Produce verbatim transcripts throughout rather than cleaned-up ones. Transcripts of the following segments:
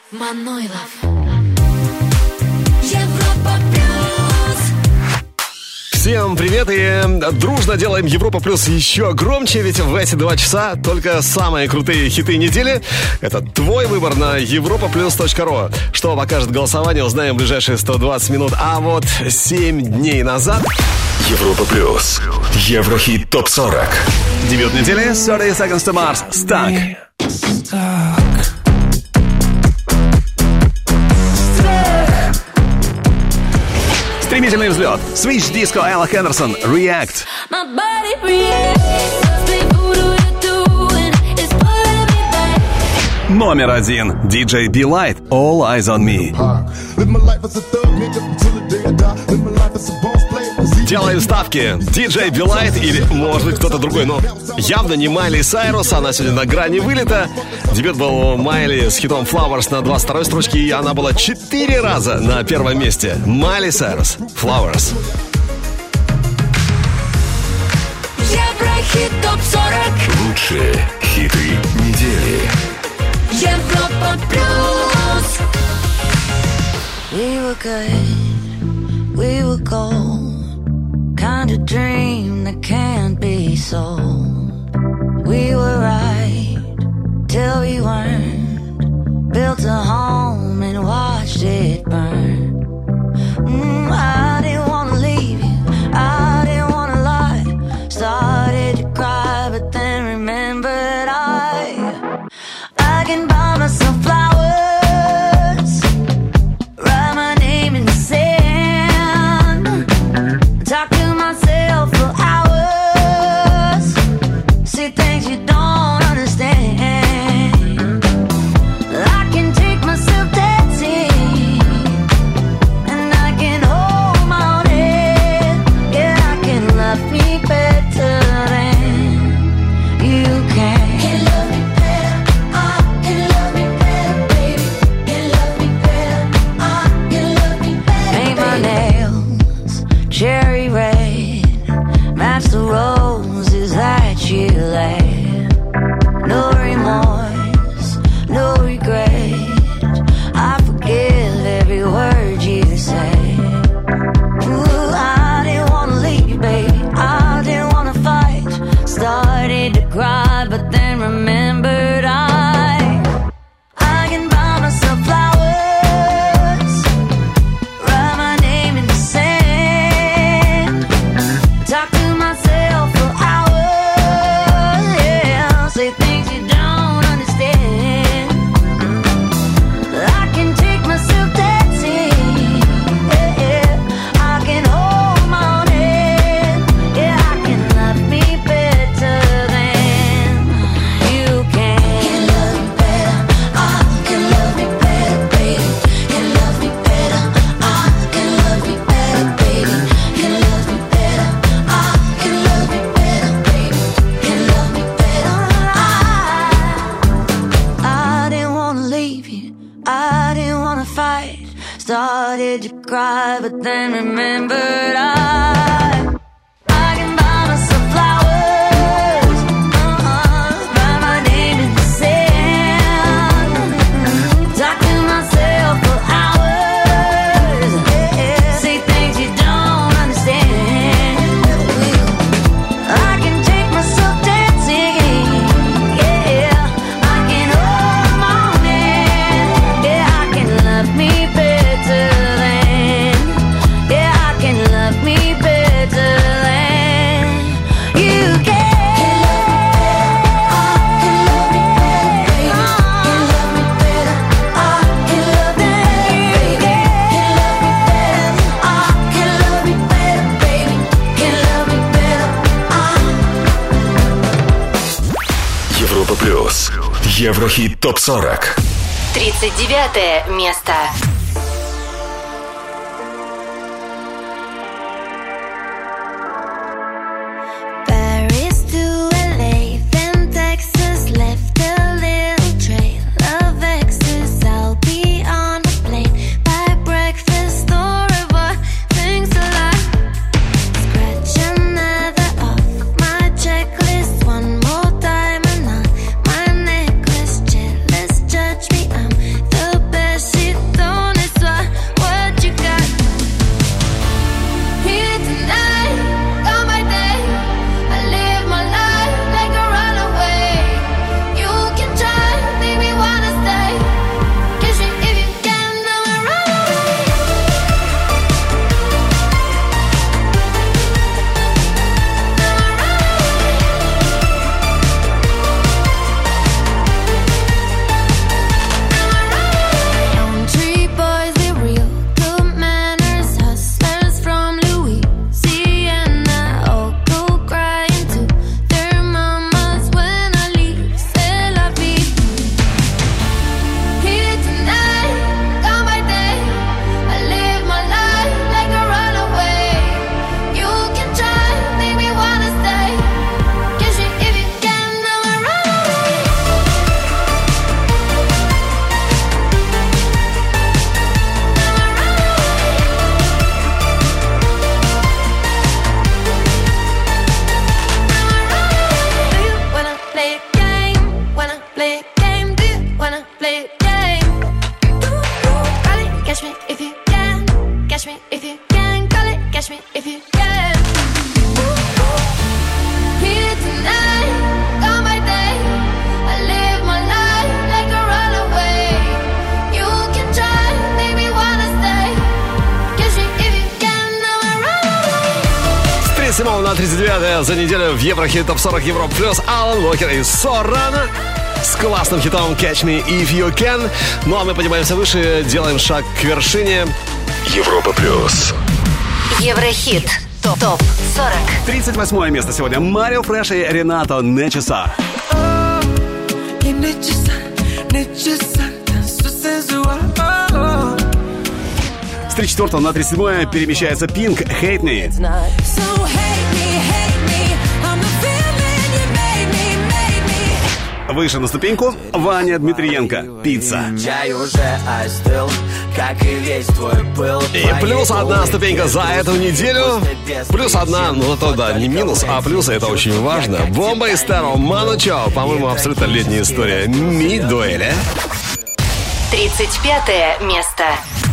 Манойлов. Европа плюс. Всем привет и дружно делаем Европа Плюс еще громче, ведь в эти два часа только самые крутые хиты недели. Это твой выбор на европа плюс точка ру. Что покажет голосование, узнаем в ближайшие сто двадцать минут. А вот семь дней назад... Европа Плюс. Еврохит топ сорок. Дебют недели thirty seconds to Mars. Stuck. Стремительный взлет. Switch Disco, Элла Хендерсон, React. Номер один. диджей Be Light, All Eyes on Me. Делаем ставки. диджей Be Light или, может быть, кто-то другой, но явно не Майли Сайрус. Она сегодня на грани вылета. Дебют был у Майли с хитом Flowers на двадцать второй строчке, и она была четыре раза на первом месте. Майли Сайрус, Flowers. Еврохит топ сорок. Лучшие хиты недели. Европа плюс. We were good, we were gold. Kind of dream that can't be sold. We were right till we weren't. Built a home and watched it burn. Mm, I didn't wanna leave you, I didn't wanna lie. Started to cry but then remembered I I can buy myself flowers, write my name in the sand, talk to myself for hours, see things you don't understand. I can take myself dancing, and I can hold my own head. Yeah, I can love me better than you can. Can love me better, I can love me better, baby. Can love me better, I can love me better. Paint my nails cherry red, match the roses that you laid. No remorse, no regret. I forgive every word you say. Ooh, I didn't wanna leave you, baby. I didn't wanna fight. Started to cry, but then remembered I I can buy myself flowers, write my name in the sand, talk to myself for hours, yeah, say things you don't understand. I can take myself dancing, yeah, yeah. I can hold my own head, yeah, I can love me better than you can. Can love me better, I can love me better, baby. Can love me better, I can love me better, baby. Can love me better, I can love me better, baby. Can love me better, I I didn't wanna leave you, I didn't wanna fight. Started to cry, but then remembered I I can buy myself flowers, uh-uh, write my name in the sand, talk to myself for hours, yeah, say things you don't understand. I can take myself dancing, yeah, I can hold my own hand, yeah, I can love me better than, yeah, I can love me better than you can. Can love me better, I can love me better, baby. Can love me better, I can love me better, baby. Can love me better, I. Европа Плюс. Еврохит топ сорок. тридцать девятое место. Paris to L A, then Texas, left a little trail of exes. I'll be on a plane by breakfast or river, things a lot. Scratch another off my checklist, one more diamond on my necklace. Jealous, judge me, I'm the best. на тридцать девятое за неделю в Еврохит Топ сорок Европа Плюс Алан Уокер и Сорана с классным хитом Catch Me If You Can. Ну а мы поднимаемся выше, делаем шаг к вершине. Европа Плюс. Еврохит Топ сорок. тридцать восьмое место сегодня. Марио Фреш и Ренато «Не часа». С тридцать четвёртого на тридцать седьмое перемещается Пинк «Hate Me». Выше на ступеньку Ваня Дмитриенко «Пицца». И плюс одна ступенька за эту неделю. Плюс одна, ну то да, не минус, а плюс, это очень важно. Бомба и Старо, Ману Чао. По-моему, абсолютно летняя история. Ми дуэли. тридцать пятое место.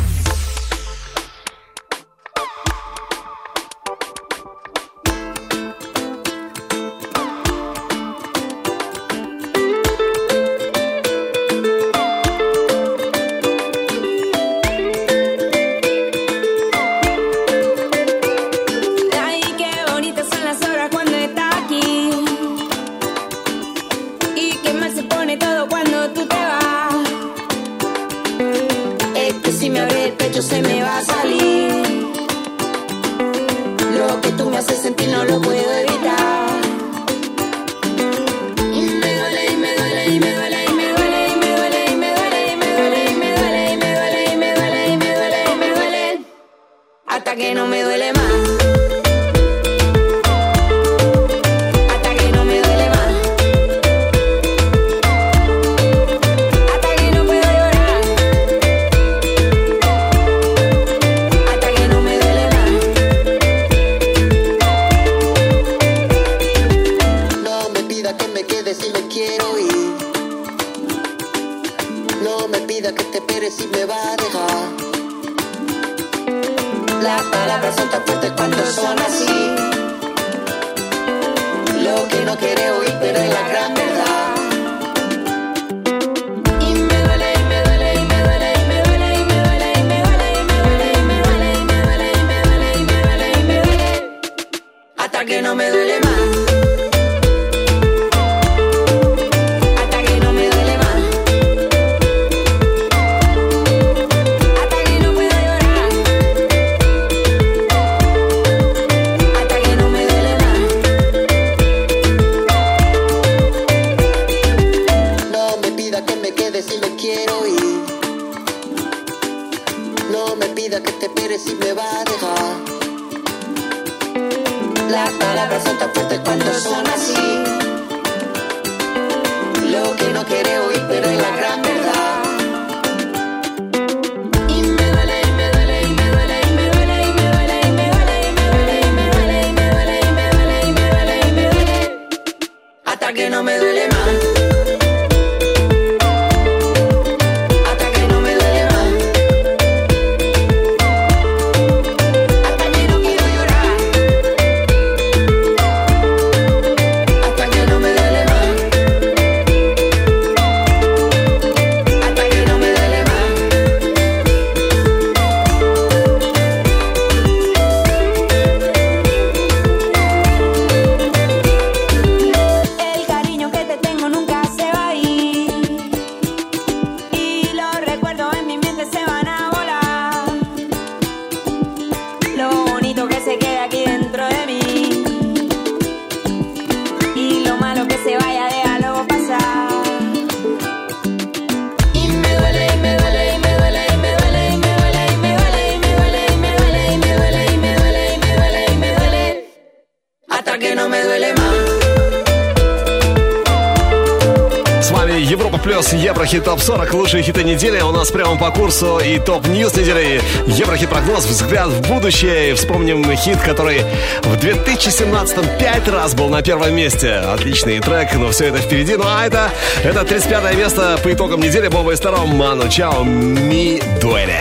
Еврохит Топ сорок, лучшие хиты недели. У нас прямо по курсу и топ-ньюс недели. Еврохит прогноз, взгляд в будущее. Вспомним хит, который в две тысячи семнадцатом пять раз был на первом месте. Отличный трек, но все это впереди. Ну а это, это тридцать пятое место по итогам недели. Бомба и Старо, Ману Чао, Ми дуэли.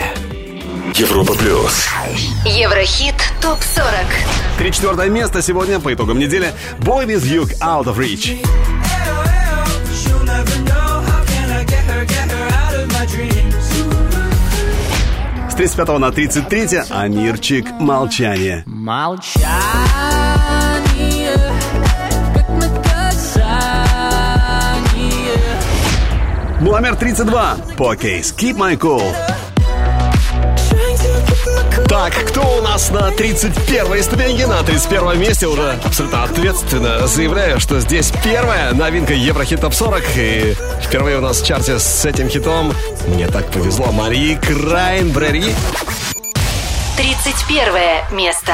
Европа Плюс. Еврохит Топ сорок. тридцать четвёртое место сегодня по итогам недели. Boy With You, Out of Reach. С тридцать пятого на тридцать третье Амирчик «Молчание». Молчание. Номер тридцать два. Покейс, Keep My Cool. Так, кто у нас на тридцать первой ступеньке? На тридцать первом месте уже абсолютно ответственно заявляю, что здесь первая новинка Еврохит Топ сорок. И впервые у нас в чарте с этим хитом мне так повезло. Марии Краймбрери. тридцать первое место.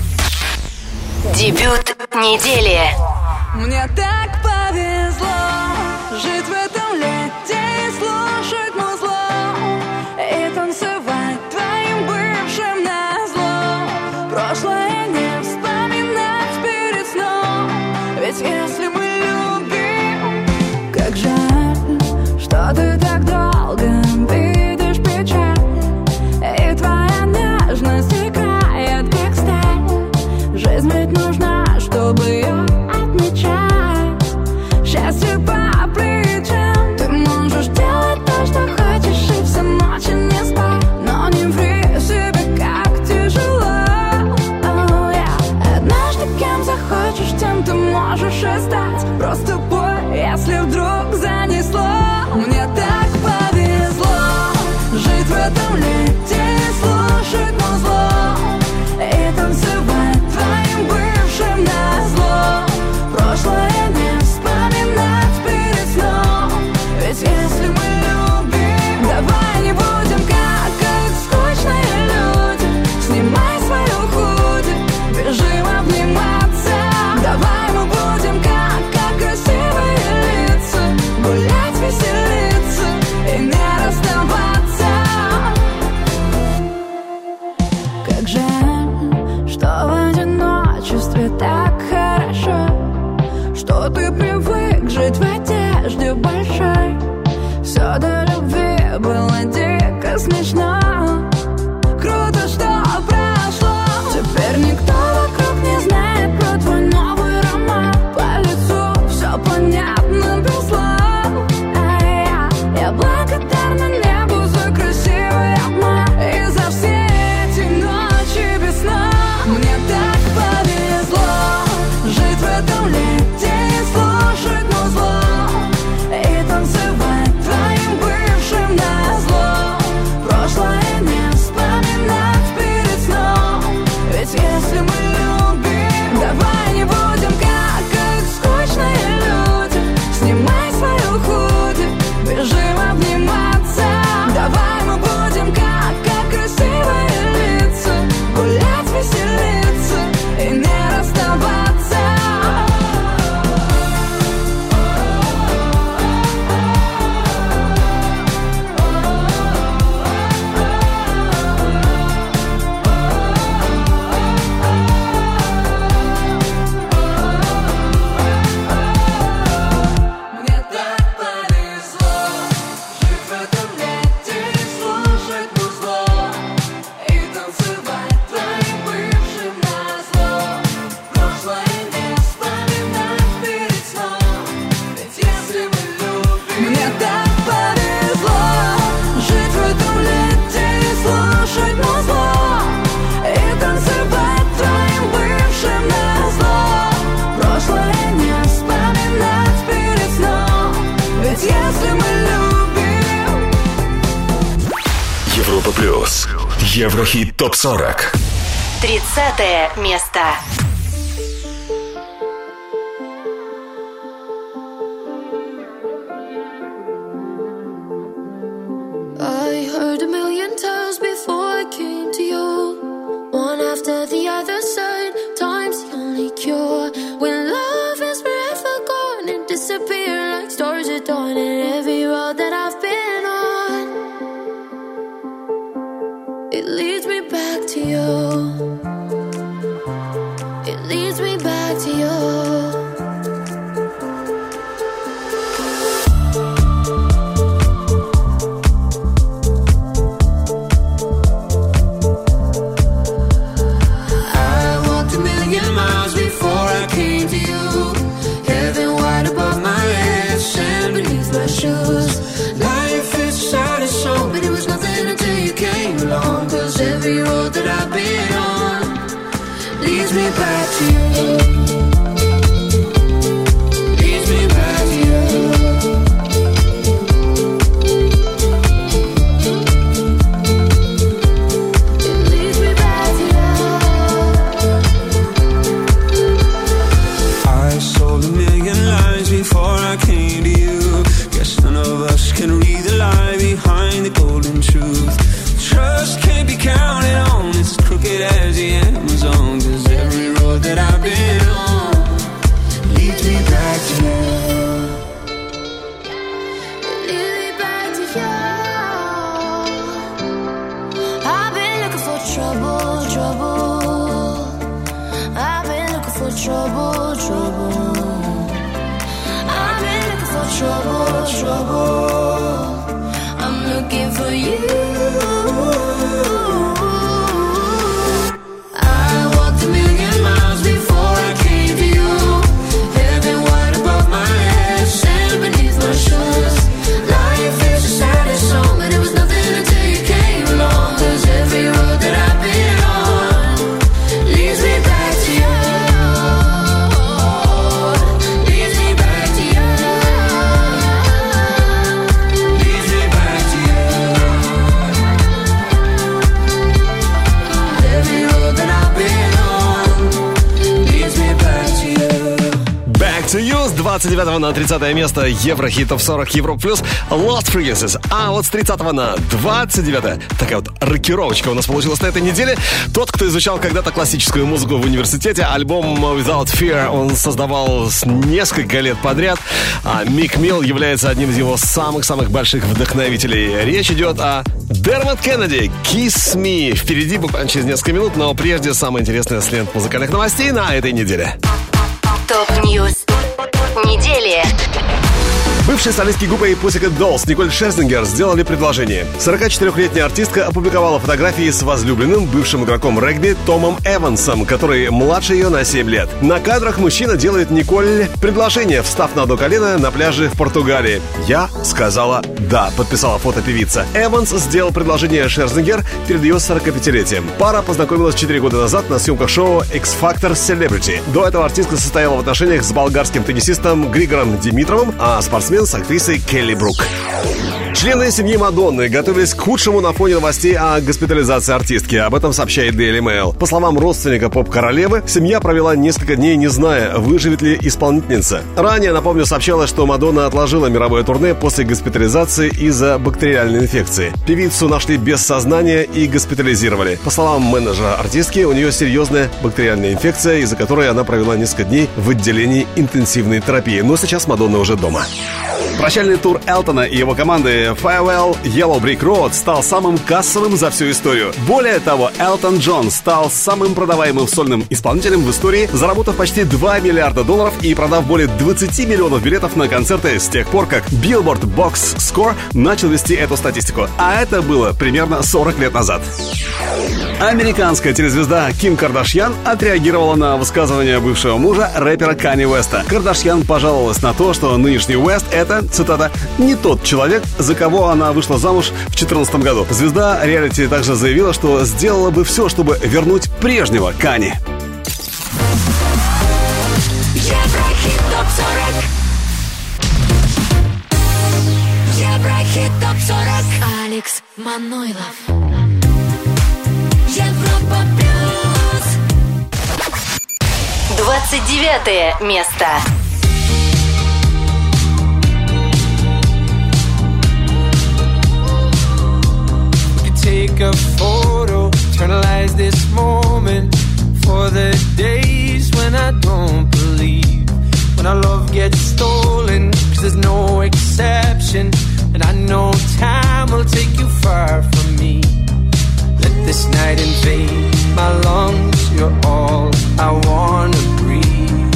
Дебют недели. Мне так повезло жить в этом лете и слушать музло и танцевать твоим бывшим назло. Прошлое не вспоминать перед сном, ведь если мы любим, как жаль, что ты так долго видишь печаль, и твоя нежность стекает, как сталь. Жизнь ведь нужна, чтобы ее отмечать. Счастье по плечам. Ты можешь делать то, что хочешь, и всю ночь не спать, но не ври себе, как тяжело. Oh, yeah. Однажды кем захочешь, тем ты можешь и стать. Просто пой, если вдруг занесло. Мне так повезло жить в этом лете и слушать музло и танцевать твоим бывшим назло. Прошлое не вспоминать перед сном, ведь если мы любим, давай не будем как, как скучные люди. Снимай свою худи, бежим обниматься. Давай мы будем как, как красивые лица, гулять, веселиться и не расставаться. Как жаль, что в одиночестве так хорошо, что ты привык жить в одежде большой. Все до любви было дико смешно. Круто, что прошло. Теперь никто вокруг не знает про твой новый роман. По лицу все понятно без слов. А я, я благодарна небу за красивый обман и за все эти ночи без сна. Мне так повезло жить в этом лете и слушать музло и танцевать твоим бывшим назло. Прошлое не вспоминать перед сном, ведь если мы любим, давай не будем как, как скучные люди. Снимай свою худи, бежим обниматься. Давай мы будем как, как красивые лица, гулять, веселиться и не расставаться. Мне так повезло жить в этом лете и слушать музло и танцевать твоим бывшим назло. Прошлое не вспоминать перед сном, ведь если мы любим. Мне так повезло жить в этом лете и слушать музло и танцевать твоим бывшим назло. Прошлое не вспоминать перед сном, ведь если мы любим. Европа плюс. Еврохит топ сорок. тридцатое место. I heard a million times before I came to you. One after the other said, time's the only cure. When love is forever gone and disappear like stars at dawn. And every road that I've been on, it leads me back to you. the golden truth. Trust can't be counted on, it's as crooked as the Amazon. Cause every road that I've been on leads me back to you. Lead me back to you. I've been looking for trouble, trouble. I've been looking for trouble, trouble. I've been looking for trouble, trouble. I'm looking for you. I walked a million miles before I came to you. Heaven wide above my head, sand beneath my shoes. Life is the saddest song, but it was nothing until you came along. Cause every road that I've been on leads me back to you. Leads me back to you. Leads me back to you. Every road that I've been on leads me back to you. Back to You с двадцать девятого на тридцатое место Еврохит топ сорок Европа плюс Lost Frequencies. А вот с тридцатого на двадцать девятое такая вот рокировочка у нас получилась на этой неделе. Тот, кто изучал когда-то классическую музыку в университете, альбом Without Fear он создавал с несколько лет подряд. А Мик Милл является одним из его самых-самых больших вдохновителей. Речь идет о Дермот Кеннеди, Kiss Me. Впереди буквально через несколько минут, но прежде самое интересное с лент музыкальных новостей на этой неделе. Топ-ньюс недели. Бывшие солистки группы Pussycat Dolls Николь Шерзингер сделали предложение. сорокачетырёхлетняя артистка опубликовала фотографии с возлюбленным, бывшим игроком регби Томом Эвансом, который младше ее на семь лет. На кадрах мужчина делает Николь предложение, встав на одно колено на пляже в Португалии. «Я сказала да», подписала фотопевица. Эванс сделал предложение Шерзингер перед ее сорокапятилетием. Пара познакомилась четыре года назад на съемках шоу X-Factor Celebrity. До этого артистка состояла в отношениях с болгарским теннисистом Григором Димитровым, а спортсмен с актрисой Келли Брук. Члены семьи Мадонны готовились к худшему на фоне новостей о госпитализации артистки. Об этом сообщает Daily Mail. По словам родственника поп-королевы, семья провела несколько дней, не зная, выживет ли исполнительница. Ранее, напомню, сообщалось, что Мадонна отложила мировое турне после госпитализации из-за бактериальной инфекции. Певицу нашли без сознания и госпитализировали. По словам менеджера артистки, у нее серьезная бактериальная инфекция, из-за которой она провела несколько дней в отделении интенсивной терапии. Но сейчас Мадонна уже дома. Прощальный тур Элтона и его команды Farewell Yellow Brick Road стал самым кассовым за всю историю. Более того, Элтон Джон стал самым продаваемым сольным исполнителем в истории, заработав почти два миллиарда долларов и продав более двадцать миллионов билетов на концерты с тех пор, как Billboard Box Score начал вести эту статистику. А это было примерно сорок лет назад. Американская телезвезда Ким Кардашьян отреагировала на высказывание бывшего мужа рэпера Канье Уэста. Кардашьян пожаловалась на то, что нынешний Уэст — это, цитата, «не тот человек, за кого она вышла замуж в две тысячи четырнадцатом году». Звезда реалити также заявила, что сделала бы все, чтобы вернуть прежнего Канье. Еврохит топ сорок. Еврохит топ сорок. Алекс Манойлов. Европа плюс. двадцать девятое место. Take a photo, eternalize this moment for the days when I don't believe, when our love gets stolen, cause there's no exception, and I know time will take you far from me. Let this night invade my lungs, you're all I wanna breathe.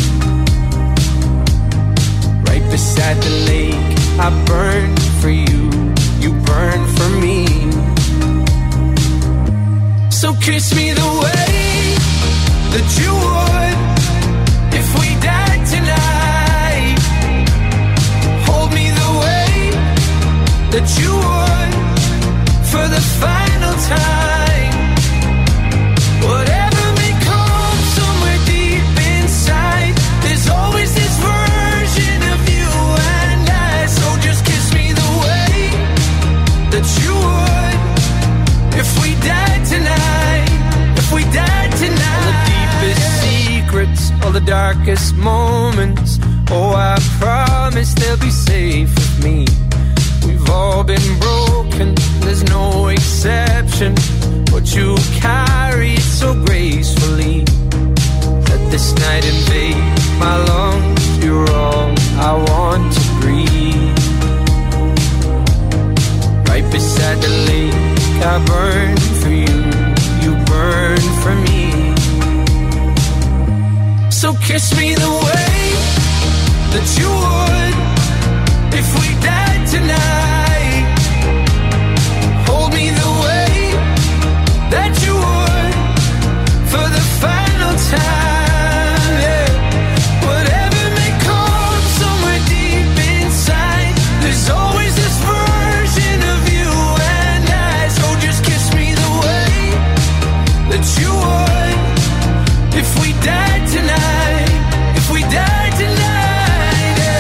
Right beside the lake, I burn for you, you burn for me. So kiss me the way that you would if we died tonight. Hold me the way that you would for the final time. Whatever may come somewhere deep inside, there's always this version of you and I. So just kiss me the way that you would if we died tonight, if we died tonight. All the deepest secrets, all the darkest moments, oh, I promise they'll be safe with me. We've all been broken, I burn for you, you burn for me. So kiss me the way that you would if we died tonight. Hold me the way that you would for the final time, yeah. Whatever may come somewhere deep inside, there's always this version of you and I. So just kiss me the way that you would if we died tonight, if we died tonight, yeah.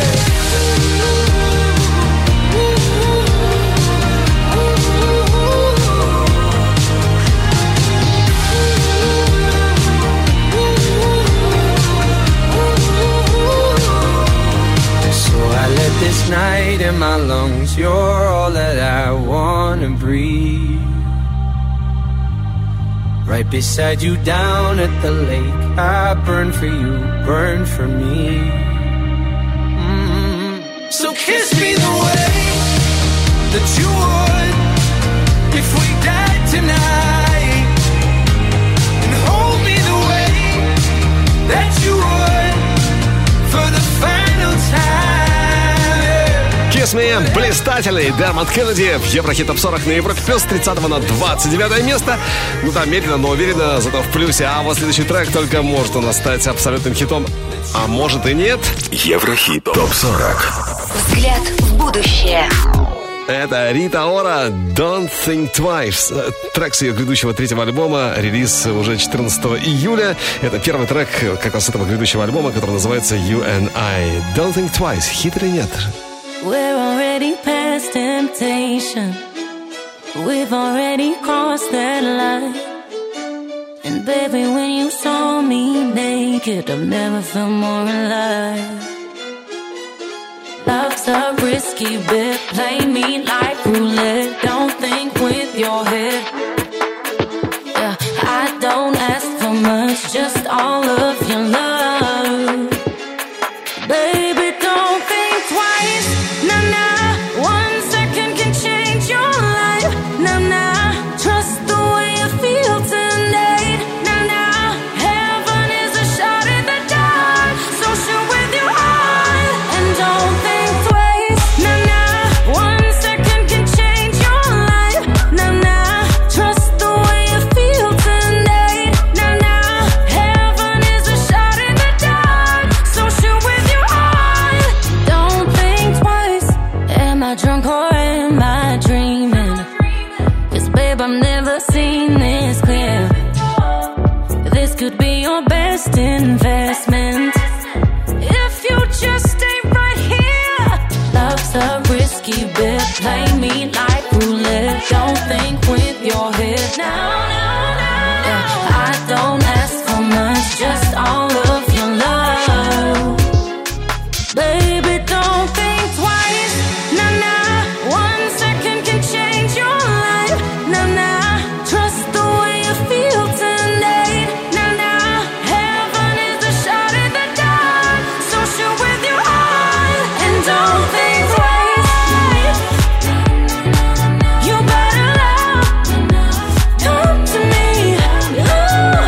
So I let this night in my lungs, you're all that I wanna breathe. Right beside you down at the lake, I burn for you, burn for me. Mm-hmm. So kiss me the way that you would if we died tonight, and hold me the way that you would for the final time, yeah. Kiss Me, блистательный Дермот Кеннеди в Еврохит Топ сорок на Европе Плюс, тридцатого на двадцать девятое место. Ну да, медленно, но уверенно, зато в плюсе. А вот следующий трек только может у нас стать абсолютным хитом, а может и нет. Еврохит Топ сорок. Взгляд в будущее. Это Рита Ора, Don't Think Twice. Трек с ее грядущего третьего альбома, релиз уже четырнадцатого июля. Это первый трек как раз этого грядущего альбома, который называется You and I. Don't Think Twice. Хит или нет? We're already past temptation. We've already crossed that line. And baby, when you saw me naked, I've never felt more alive. Love's a risky bet. Play me like roulette. Don't think with your head. Yeah, I don't ask for much, just all of your love. Baby, don't think twice. Nah, nah, one second can change your life. Nah, nah, trust the way you feel tonight. Nah, nah, heaven is a shot in the dark, so shoot with your heart and don't think twice. Nah, nah, one second can change your life. Nah, nah, trust the way you feel tonight. Nah, nah, heaven is a shot in the dark, so shoot with your heart. Don't think twice. Am I drunk or am I dreaming? 'Cause babe, I've never seen this clear. This could be your best investment if you just stay right here. Love's a risky bet. Play me like roulette. Don't think with your head. No, no, no, no. Yeah, I don't ask for much, just all of your love. Baby, don't think twice. Nah, nah, one second can change your life. Nah, nah, trust the way you feel tonight. Nah, nah, heaven is a shot in the dark, so shoot with your heart and don't think twice. You better love, come to me. Ooh,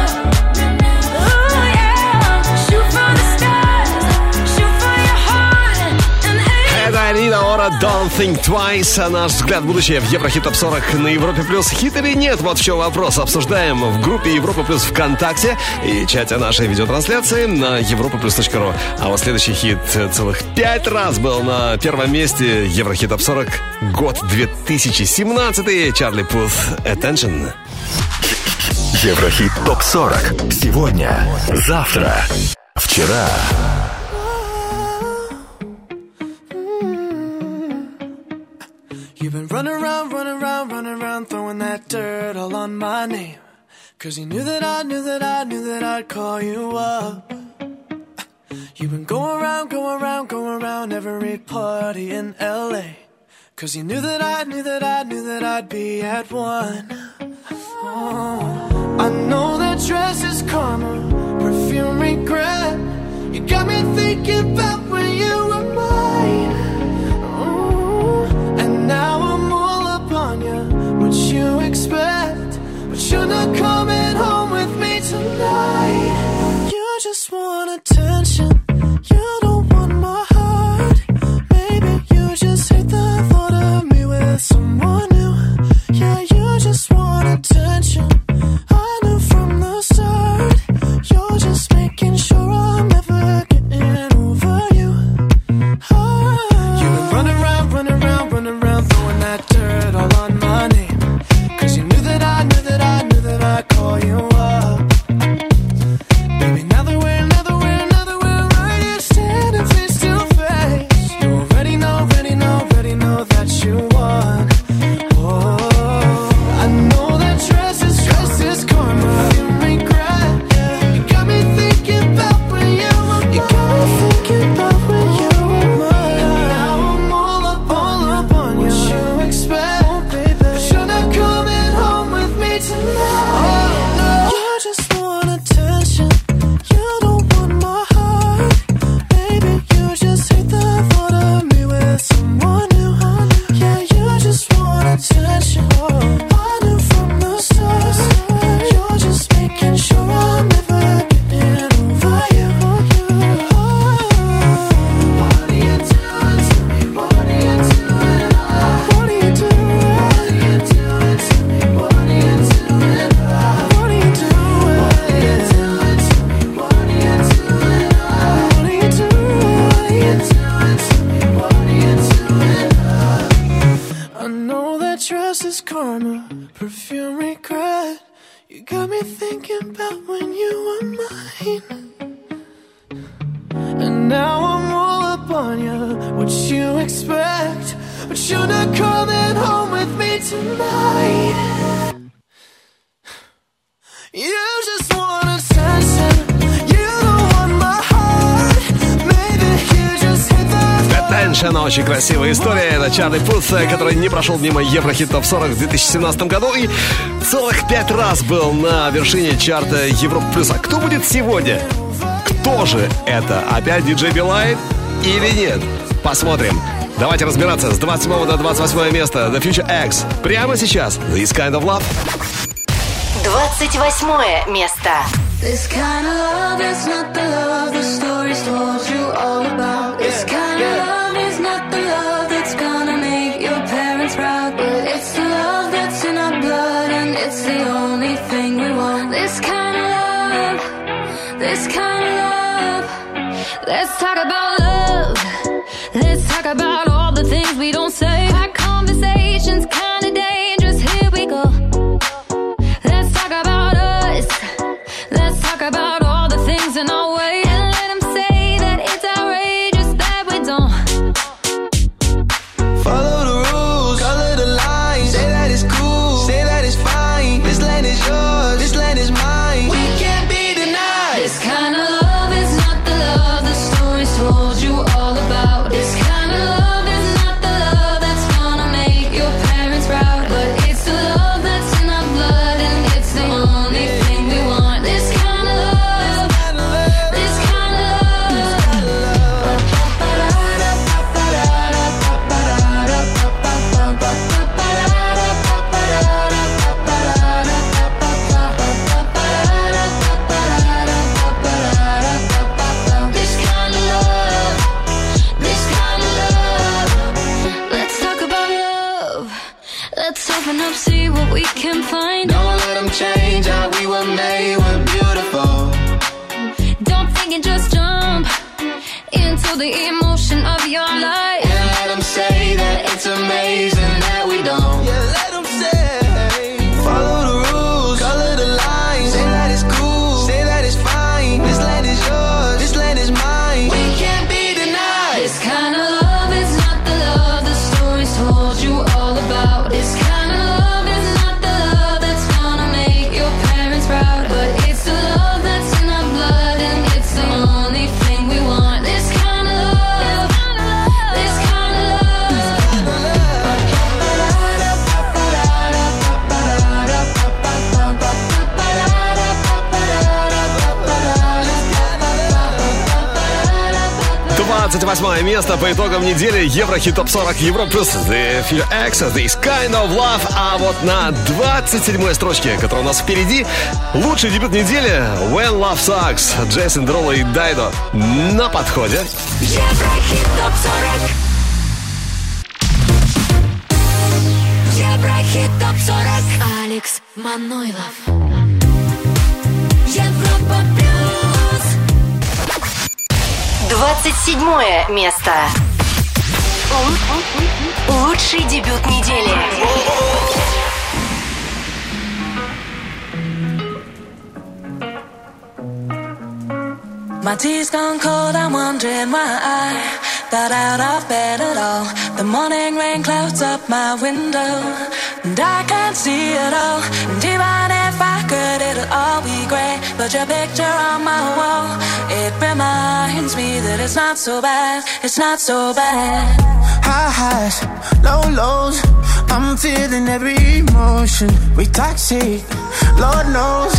ooh, yeah. Shoot for the stars, shoot for your heart and aim. Это Рита Ора, Don't Think Twice. А наш взгляд в будущее в Еврохит Топ сорок на Европе Плюс. Хит или нет? Вот в чем вопрос. Обсуждаем в группе Европа Плюс ВКонтакте и чате нашей видеотрансляции на европа плюс точка ру. А вот следующий хит целых пять раз был на первом месте Еврохит Топ сорок. Год две тысячи семнадцатый. Чарли Пут, Attention. Еврохит Топ сорок. Сегодня, завтра, вчера. You've been running around, running around, running around, throwing that dirt all on my name. 'Cause you knew that I knew that I knew that I'd call you up. You've been going around, going around, going around every party in L A. 'Cause you knew that I knew that I knew that I'd be at one. Oh, I know that dress is karma, perfume regret. You got me thinking about when you were mine. Oh, and now I'm all up on you. What you expect? Tears, karma, perfume, regret. You got me thinking about when you were mine. And now I'm all up on you. What you expect? But you're not coming home with me tonight. You just want attention. You don't want my heart. Maybe you just hit that. Attention, очень красивая история. Это Чарли Пут, который не прошел мимо Еврохит топ сорок в две тысячи семнадцатом году и целых пять раз был на вершине чарта Европа плюс. А кто будет сегодня? Кто же это? Опять диджей Билайн или нет? Посмотрим. Давайте разбираться. С двадцать седьмого до двадцать восьмого места The Future X. Прямо сейчас This Kind of Love. двадцать восьмое место. This kind of love is not the love the stories told you all about. This kind of love is not the love that's gonna make your parents proud. But it's the love that's in our blood and it's the only thing we want. This kind of love, this kind of love. Let's talk about love. Let's talk about all the things we don't say. Our conversations kinda dangerous. Here we go. Let's talk about us. Let's talk about all the things in our way. And let them say that it's outrageous that we don't. Follow the rules, color the lines. Say that it's cool, say that it's fine. This land is yours, this land is mine. We can't be denied. This kind of love is not the love the stories told you all about. This kind of love is not the love that's gonna make your parents proud. But it's the love that's in our blood and it's the only thing we want. This kind of love, this kind of This kind of love, this kind of love. Let's talk about love. Let's open up, see what we can find. Don't let them change how we were made. We're beautiful. Don't think and just jump into the emotion of your life. And let them say that it's amazing that we don't. Yeah, let them say. Follow the rules, color the lines. Say that it's cool, say that it's fine. This land is yours, this land is mine. We can't be denied. This kind of love is not the love the stories told you all about. This kind of love is not the love that's gonna make your parents proud. But it's the love that's in our blood and it's the only thing we want. This kind of love, this kind of love. двадцать восьмое место по итогам недели Еврохит топ сорок Европа плюс The Future X, This Kind of Love. А вот на двадцать седьмой строчке, которая у нас впереди, лучший дебют недели When Love Sucks, Джейсон Деруло и Дайдо на подходе. Еврохит топ сорок. Еврохит топ сорок. Алекс Манойлов. Европа плюс. двадцать седьмое место. Лучший дебют недели. My tea's gone cold, I'm wondering why I got out of bed at all. The morning rain clouds up my window, and I can't see it all. And even if I could, it'll all be grey. But your picture on my wall, it reminds me that it's not so bad, it's not so bad. High highs, low lows, I'm feeling every emotion. We toxic, Lord knows.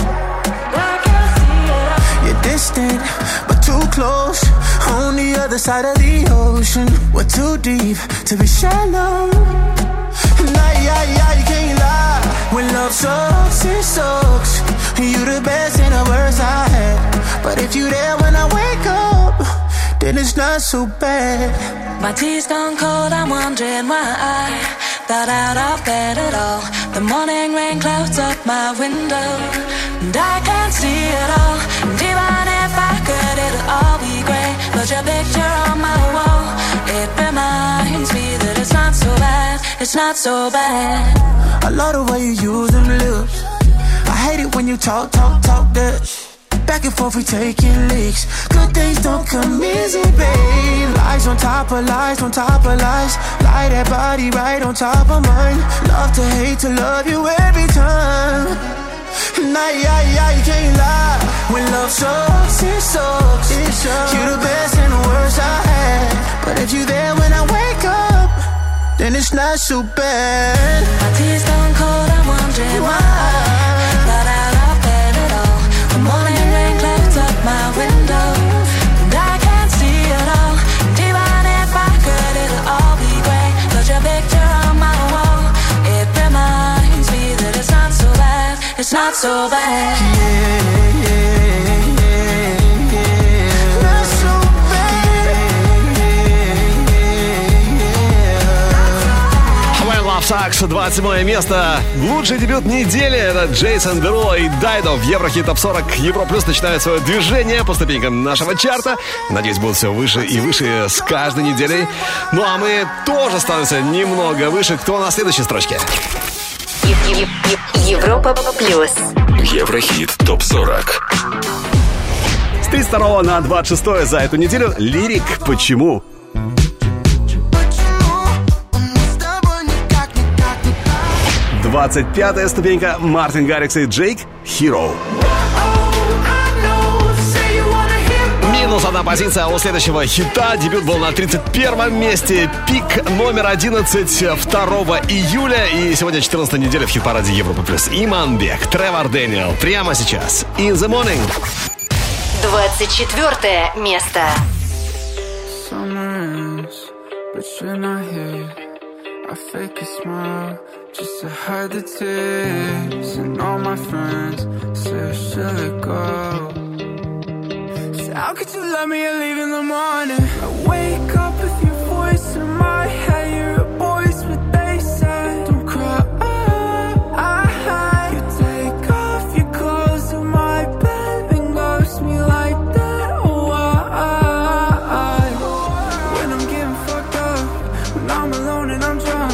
You're distant, but too close. On the other side of the ocean, we're too deep to be shallow. Nah, yeah, yeah, you can't lie. When love sucks, it sucks. You the best and the worst I had. But if you there when I wake up, then it's not so bad. My tea's gone cold, I'm wondering why I got out of bed at all. The morning rain clouds up my window, and I can't see it all. And even if I could, it'll all be grey. But your picture on my wall, it reminds me that it's not so bad, it's not so bad. I love the way you use them lips. I hate it when you talk, talk, talk that shit. Back and forth we taking leaks. Good things don't come easy, babe. Lies on top of lies, on top of lies. Lie that body right on top of mine. Love to hate to love you every time. Nah, yeah, yeah, you can't lie. When love sucks, it sucks. It sucks. You're the best and the worst I had. But if you there when I wake up, then it's not so bad. My tea's gone cold, I'm wondering why I got out of bed at all. The morning rain clouds up my window, and I can't see it all. And even if I could, it'll all be great. Put your picture on my wall. It reminds me that it's not so bad. It's not so bad. Yeah, yeah, yeah, yeah. Not so Love Sucks, двадцать седьмое место. Лучший дебют недели — это Джейсон Деруло и Дайдо. В Еврохит Топ сорок Европа Плюс начинает свое движение по ступенькам нашего чарта. Надеюсь, будут все выше и выше с каждой неделей. Ну а мы тоже становимся немного выше. Кто на следующей строчке? Европа Плюс. Еврохит Топ сорок. С тридцать второго на двадцать шестое за эту неделю Лирик «Почему?». двадцать пятая ступенька Мартин Гаррикс и Джейк «Hero». Минус одна позиция у следующего хита. Дебют был на тридцать первом месте. Пик номер одиннадцать второго июля. И сегодня четырнадцатая неделя в хит-параде Европа Плюс. Иманбек, Тревор Дэниел. Прямо сейчас. In the Morning. двадцать четвертое место. I fake a smile just to hide the tears. And all my friends say, should let go. So how could you love me and leave in the morning? I wake up with your voice in my head. You're a voice, what they say. Don't cry. You take off your clothes in my bed and ghost me like that. Oh, I, when I'm getting fucked up, when I'm alone and I'm drunk.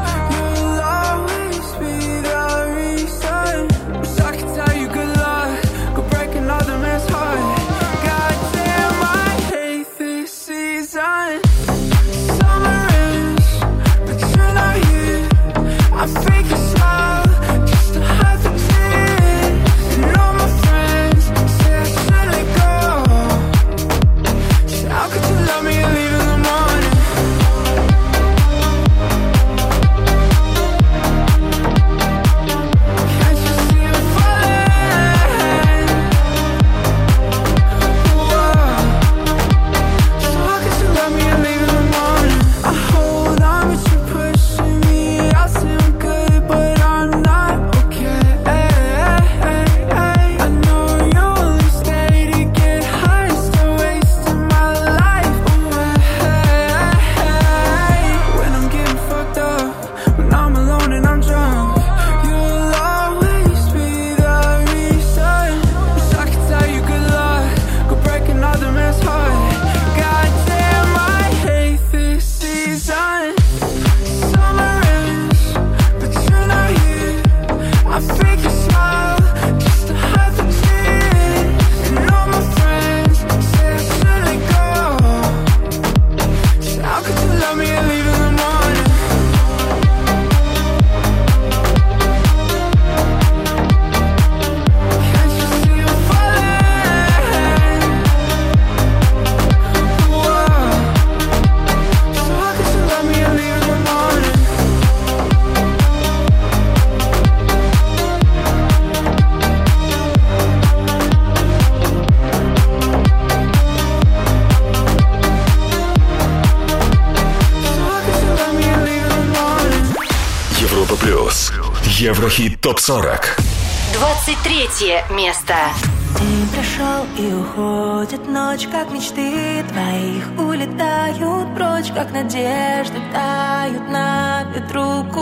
Еврохит Топ сорок. двадцать третье место. День прошел и уходит ночь, как мечты твоих улетают прочь, как надежды тают на ветру к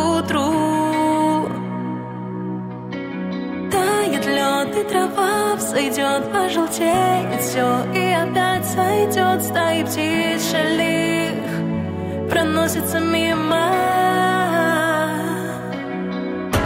утру. Тает лед и трава взойдет, пожелтеет все и опять сойдет. Стаи птиц шалих проносятся мимо.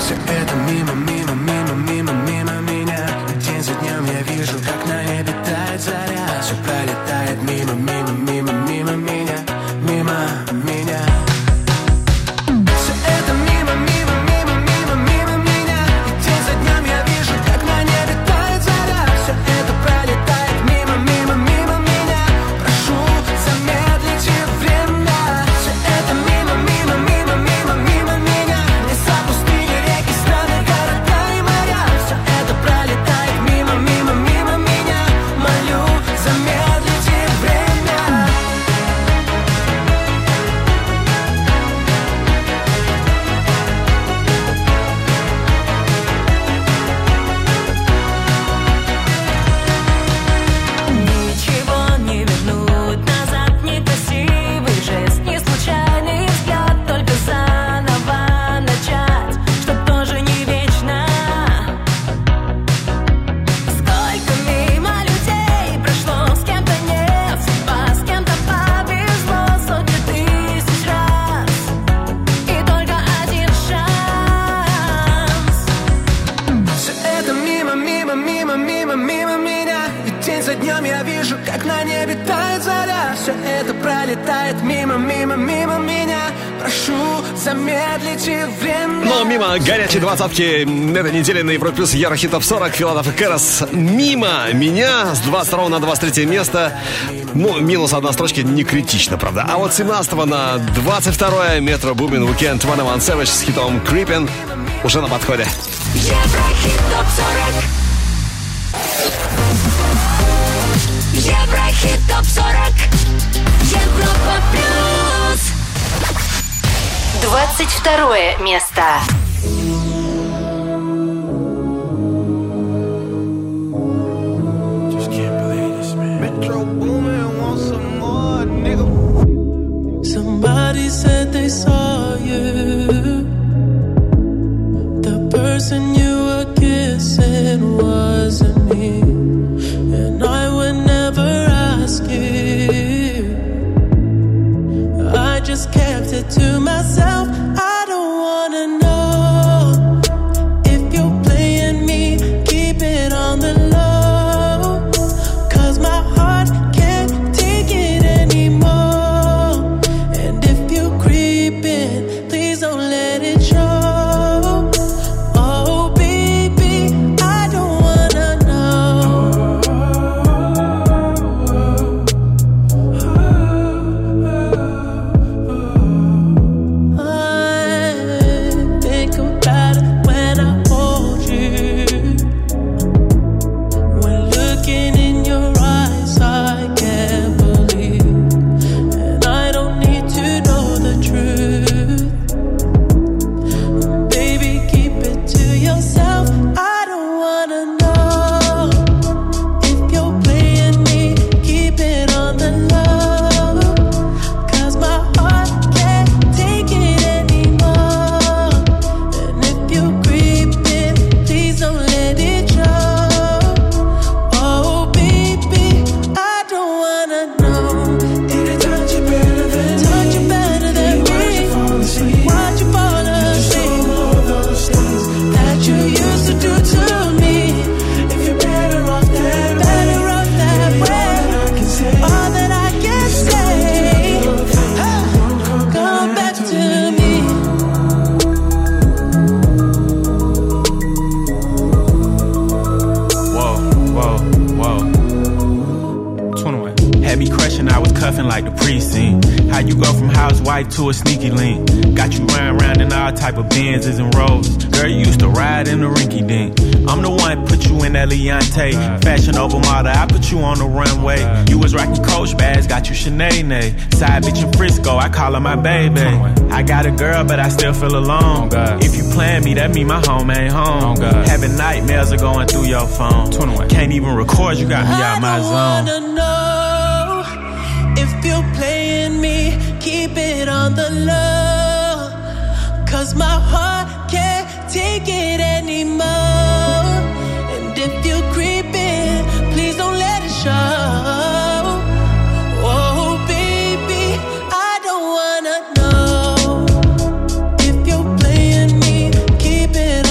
Все это мимо, мимо, мимо, мимо, мимо меня. День за днем я вижу, как на небе тает заря. Все пролетает мимо, мимо, мимо, мимо меня, мимо меня. Все это мимо, мимо, мимо, мимо, мимо меня. День за днем я вижу, как на небе тает заря. Все это пролетает мимо, мимо, мимо меня. Прошу, замедлите время. Все это мимо, мимо, мимо, мимо, мимо меня. Леса, пустыни, реки, страны, города и моря. Все это пролетает мимо, мимо, мимо меня. Молю, замедлите время. Ничего не вернуть назад, некрасивый жест, не случайный взгляд, только заново начать, что тоже не вечно. Сколько мимо людей прошло, с кем-то нет судьба, с кем-то повезло сотни тысяч раз, и только один шанс. Все это мимо, мимо, мимо, мимо, мимо меня. И день за днем я вижу, как на небе тает заря. Все это пролетает мимо, мимо, мимо меня. Прошу, замедлите время. Но мимо горячей двадцатки этой недели на Европе Плюс Еврохит Топ сорок. Филатов и Кэрос. Мимо меня с двадцать второго на двадцать третье место. Ну, минус одна строчка, не критично, правда. А вот с семнадцатого на двадцать второе Метро Бумин Уикенд двадцать один Savage с хитом Creepin' уже на подходе. Еврохит топ сорок. Еврохит топ сорок. Европа плюс. двадцать второе место. Somebody said they saw you. The person you were kissing wasn't me, and I would never ask you. I just kept it to myself. I don't wanna know if you're playing me. Keep it on the low, 'cause my heart can't take it anymore. And if you're creeping, please don't let it show. Oh baby, I don't wanna know. I think about it when I hold you. When looking in your eyes, I can't believe. And I don't need to know the truth. Baby, keep it to yourself. I don't wanna know if you're playing me. Keep it on the low, 'cause my heart can't take it anymore. And if you're creeping, please don't let it show. Oh baby, I don't wanna know. Did I touch you better than touch you better than me? Watch you fall asleep. Watch you fall asleep. All those things that you used to do to me. If you're better off that way, better off that way. All that I can say, ah, come back to me. Whoa, whoa, whoa. twenty-one. Had me crushing, I was cuffing like the precinct. How you go from housewife to a sneaky link? Got you running around in all type of Benzes and Rolls. Girl, you used to ride in the rinky dink. I'm the one put you in that Leontay. Fashion over model, I put you on the runway. You was rocking Coach bags, got you Sinead. Side bitch in Frisco, I call her my baby. I got a girl, but I still feel alone. If you plan me, that mean my home ain't home. Having nightmares are going through your phone. Can't even record, you got me out my I zone. wanna know if you're playing me. Keep it on the low, 'cause my heart can't take it anymore. And if you're creeping, please don't let it show. Oh baby, I don't wanna know if you're playing me. Keep it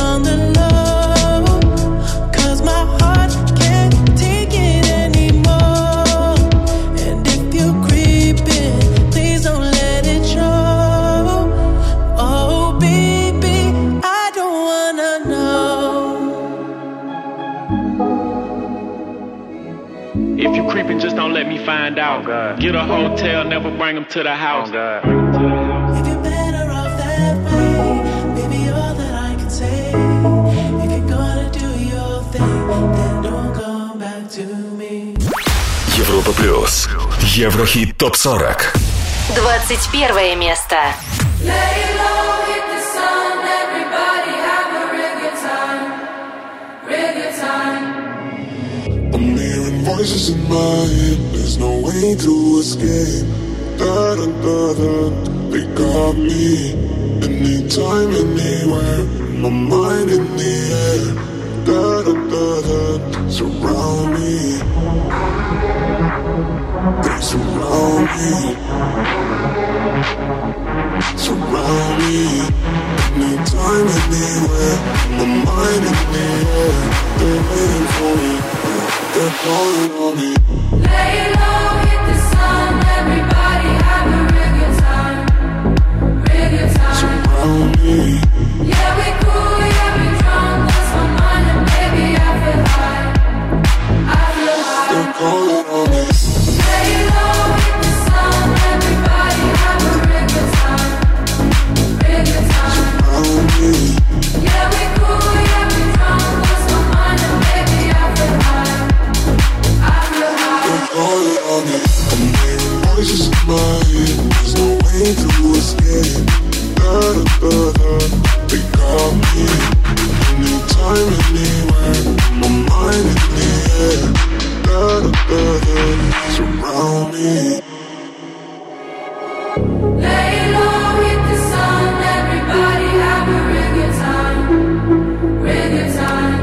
God. Get a hotel, never bring them to the house. If you're better off that way, baby, all that I can say. If you're gonna do your thing, then don't come back to me. Европа плюс. Еврохит топ сорок. двадцать первое место. I'm hearing voices in my head. There's no way to escape. Da da da da. They got me. Anytime, anywhere. My mind in the air. Da da da da. Surround me. They surround me. Surround me. Anytime, anywhere. My mind in the air. They're waiting for me. They're calling on me. Lay low, hit the sun. Everybody have a real good time. Real good time. Surround me. Yeah, we cool, yeah, we drunk. Lost my mind and baby, I feel high. I feel high. They're calling on me. Lay low, hit the sun. Everybody have a real good time. Real good time. Surround me. Yeah, we cool, yeah, we drunk. Lost my mind and baby, I feel high. I feel high. They're calling on me. I'm hearing voices in my head. There's no way to escape. Da da da da. They got me. Anytime, anywhere. My mind in the air. Da da da da. Surround me. Lay low, hit the sun. Everybody have a real good time. Real good time.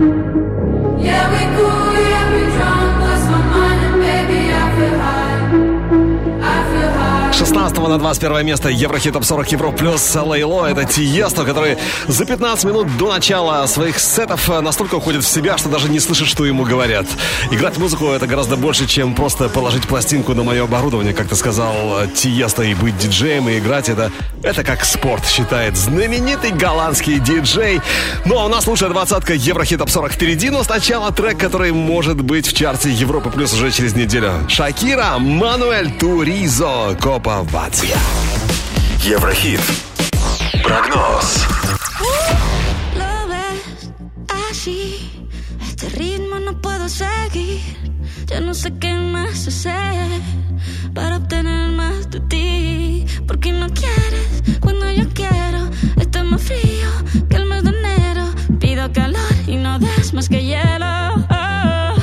Yeah, we cool, yeah, we drunk. Lost my mind and baby, I feel high. I feel high. С шестнадцатого на двадцать первое место Еврохит топ сорок Европа плюс. Лейло. Это Тиесто, который за пятнадцать минут до начала своих сетов настолько уходит в себя, что даже не слышит, что ему говорят. Играть музыку — это гораздо больше, чем просто положить пластинку на мое оборудование, как ты сказал, Тиесто, и быть диджеем, и играть это, это как спорт, считает знаменитый голландский диджей. Ну а у нас лучшая двадцатка Еврохит топ сорок впереди, но сначала трек, который может быть в чарте Европа плюс уже через неделю. Шакира, Мануэль Туризо, Копа Вация. Еврохит. Прогноз. Lo ves así, este ritmo no puedo seguir. Ya no sé qué más hacer para obtener más de ti. Porque no quieres cuando yo quiero. Está más frío que el mes de enero. Pido calor y no des más que hielo. Oh.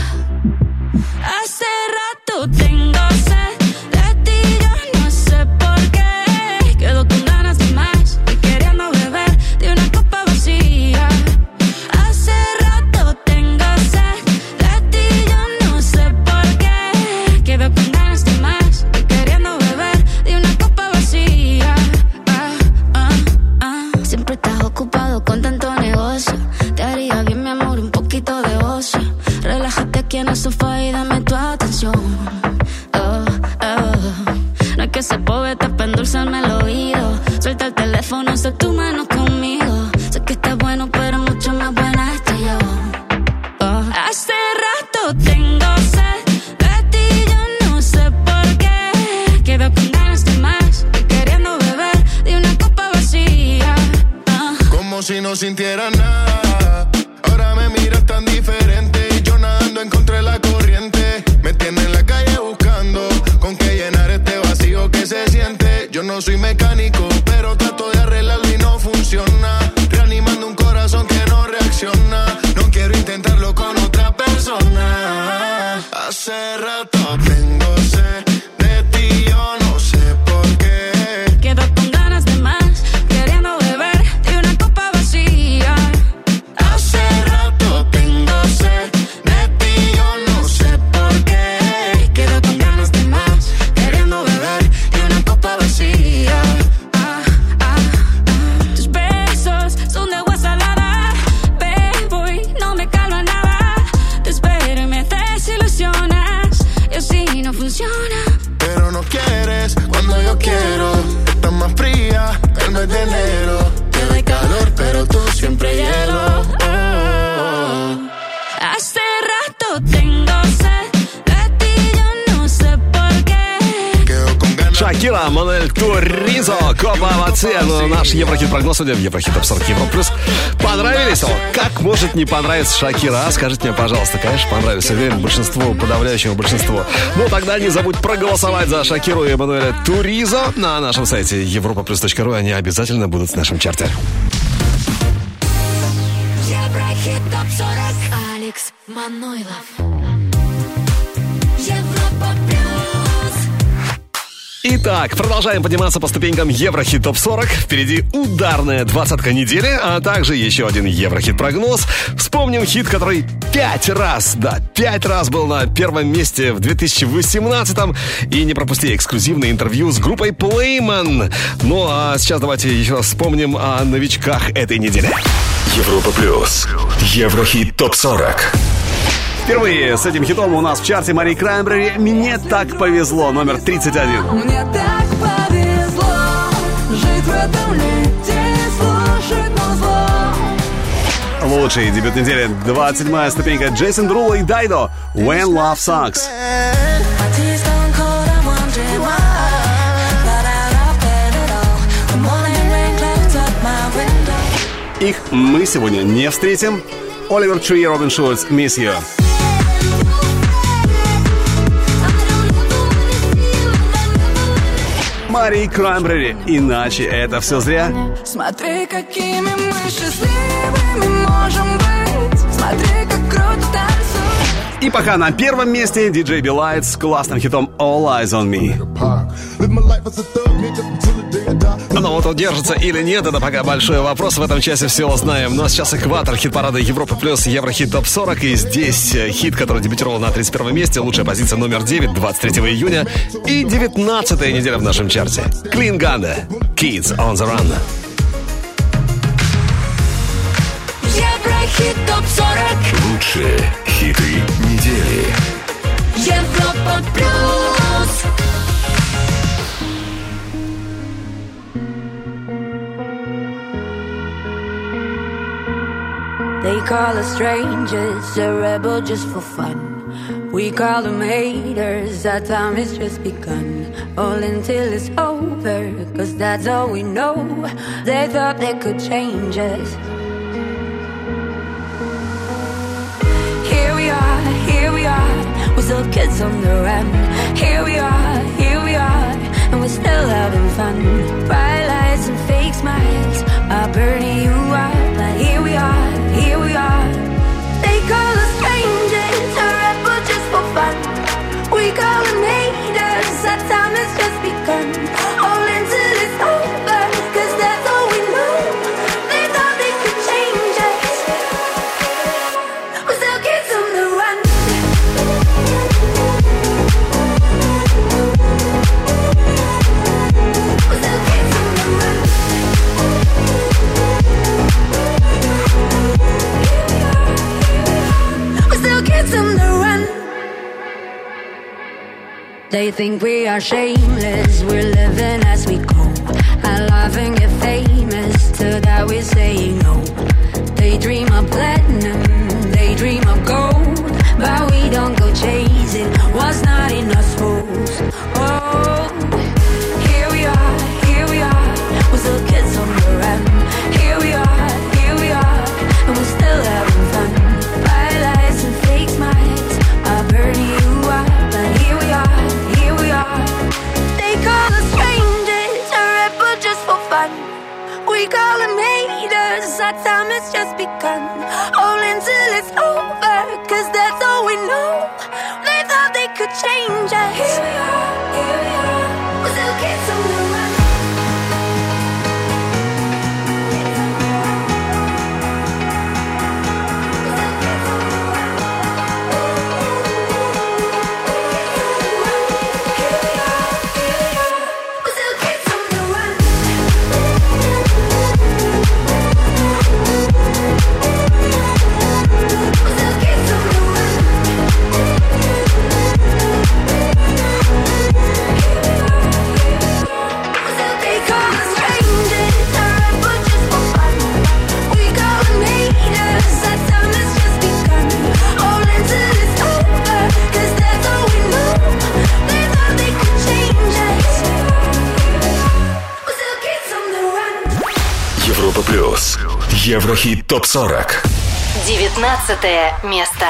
Hace rato tengo sed de ti, yo no sé por qué. Quedo con ganas de más y queriendo beber de una copa vacía. Hace rato tengo sed de ti, yo no sé por qué. Quedo con ganas de más y queriendo beber de una copa vacía. Ah, ah, ah. Siempre estás ocupado con tanto negocio. Te haría bien, mi amor, un poquito de ocio. Relájate aquí en el sofá y dame tu atención. Oh, oh. No es que ese poeta para endulzarme el oído. Suelta el teléfono, sé tu mano conmigo. Sé que estás bueno, pero mucho más buena estoy yo. Oh. Hace rato tengo sed de ti, yo no sé por qué. Quedo con ganas de más y queriendo beber de una copa vacía. Oh. Como si no sintiera nada. Ahora me miras tan diferente. Y yo nadando en contra de la corriente. Me tiene en la calle buscando con qué llenar este vacío que se siente. Yo no soy mecánico, pero trato de arreglarlo y no funciona. Reanimando un corazón que no reacciona. No quiero intentarlo con otra persona. Hace rato tengo sed de ti, yo no sé por qué. Quedo con ganas de más, queriendo beber de una copa vacía. Hace rato tengo sed de ti, yo no sé por qué. Quedo con ganas de más, queriendo beber de una copa vacía. Ah, сорок Туризо, Копа Аваци. Ну, наш Еврохит-прогноз сегодня в Еврохит Топ сорок Евро Плюс. Понравились? О, как может не понравиться Шакира, а? Скажите мне, пожалуйста. Конечно, понравились. Уверен, большинству, подавляющему большинству. Ну, тогда не забудь проголосовать за Шакиру и Эммануэля Туризо на нашем сайте европа плюс точка ру. Они обязательно будут в нашем чарте. Еврохит топ сорок. Алекс Манойлов. Европа плюс. Итак, продолжаем подниматься по ступенькам Еврохит Топ сорок. Впереди ударная двадцатка недели, а также еще один Еврохит-прогноз. Вспомним хит, который пять раз, да, пять раз был на первом месте в две тысячи восемнадцатом. И не пропусти эксклюзивное интервью с группой Playman. Ну а сейчас давайте еще раз вспомним о новичках этой недели. Европа плюс. Еврохит Топ сорок. Впервые с этим хитом у нас в чарте Мари Краймбрери «Мне так повезло», номер тридцать один. Мне так повезло жить в этом лете и слушать музло. Лучший дебют недели, двадцать седьмая ступенька, Джейсон Деруло и Дайдо «When Love Sucks». Их мы сегодня не встретим. Оливер Три, Робин Шульц, «Miss You». Мари Краймбрери, «Иначе это все зря». Смотри, какими мы счастливыми можем быть. Смотри, как круто танцует. И пока на первом месте диджей Билайт с классным хитом «All Eyes on Me». Ну вот он держится или нет, это пока большой вопрос. В этом часе все узнаем. Ну а сейчас экватор хит-парада Европа плюс Еврохит Топ сорок. И здесь хит, который дебютировал на тридцать первом месте. Лучшая позиция номер девять, двадцать третьего июня. И девятнадцатая неделя в нашем чарте. Клин Ганда, Kids on the Run. Еврохит топ сорок. Лучшие хиты недели. Европа плюс. They call us strangers, a rebel just for fun. We call them haters, our time has just begun. All until it's over, cause that's all we know. They thought they could change us. Here we are, here we are, we're still kids on the run. Here we are, here we are, and we're still having fun. Bright lights and fake smiles are burning you out. But here we are, here we are. They call us strangers, a rebel just for fun. We call them haters, our time has just begun. All until it's over, cause that's all we know. They thought they could change us. We're still kids on the run. We're still kids on the run. We're still kids on the run. They think we are shameless, we're living as we go. I laugh and get famous, to that we're saying no. They dream of platinum, they dream of gold, but we don't go chasing what's not in our souls. Oh, here we are, here we are, we're still kids on the run. Here we are, here we are, and we're still having fun. Bright lights and fake smiles are burning you out, but here we are, here we are. They call us strangers, a rebel just for fun. We call them haters, our time has just begun. All until it's over, cause that's all we know. They thought they could change us. Here we are, here we are, we're still kids on the run. Европа плюс. Еврохит топ сорок. девятнадцатое место.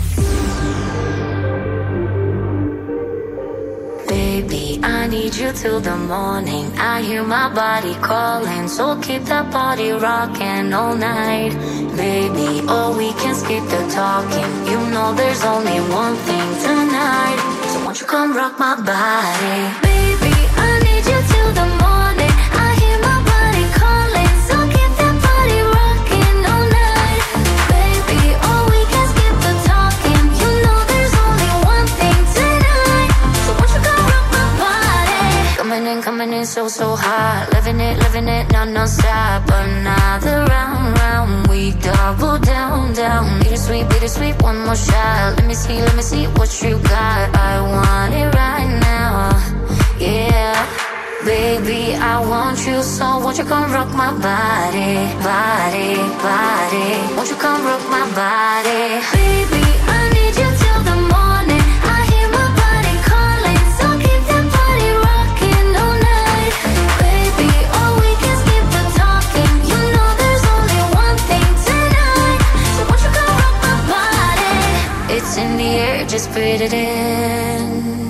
Baby, I need you till the morning. I hear my body calling, so keep that body rocking all night. Baby, oh, we can skip the talking. You know there's only one thing tonight. So won't you come rock my body? Baby, I need you till the morning. I hear my body calling, so keep that body rocking all night. Baby, oh, we can skip the talking. You know there's only one thing tonight. So won't you come rock my body? Coming in, coming in so, so hot. Living it, living it, non, non-stop. Another round, round. We double down, down. Bittersweet, bittersweet, one more shot. Let me see, let me see what you got. I want it right now. Yeah. Baby, I want you, so won't you come rock my body, body, body. Won't you come rock my body? Baby, I need you till the morning. I hear my body calling, so keep that body rocking all night. Baby, oh, we can skip the talking. You know there's only one thing tonight. So won't you come rock my body? It's in the air, just breathe it in.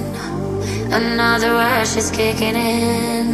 Another rush is kicking in.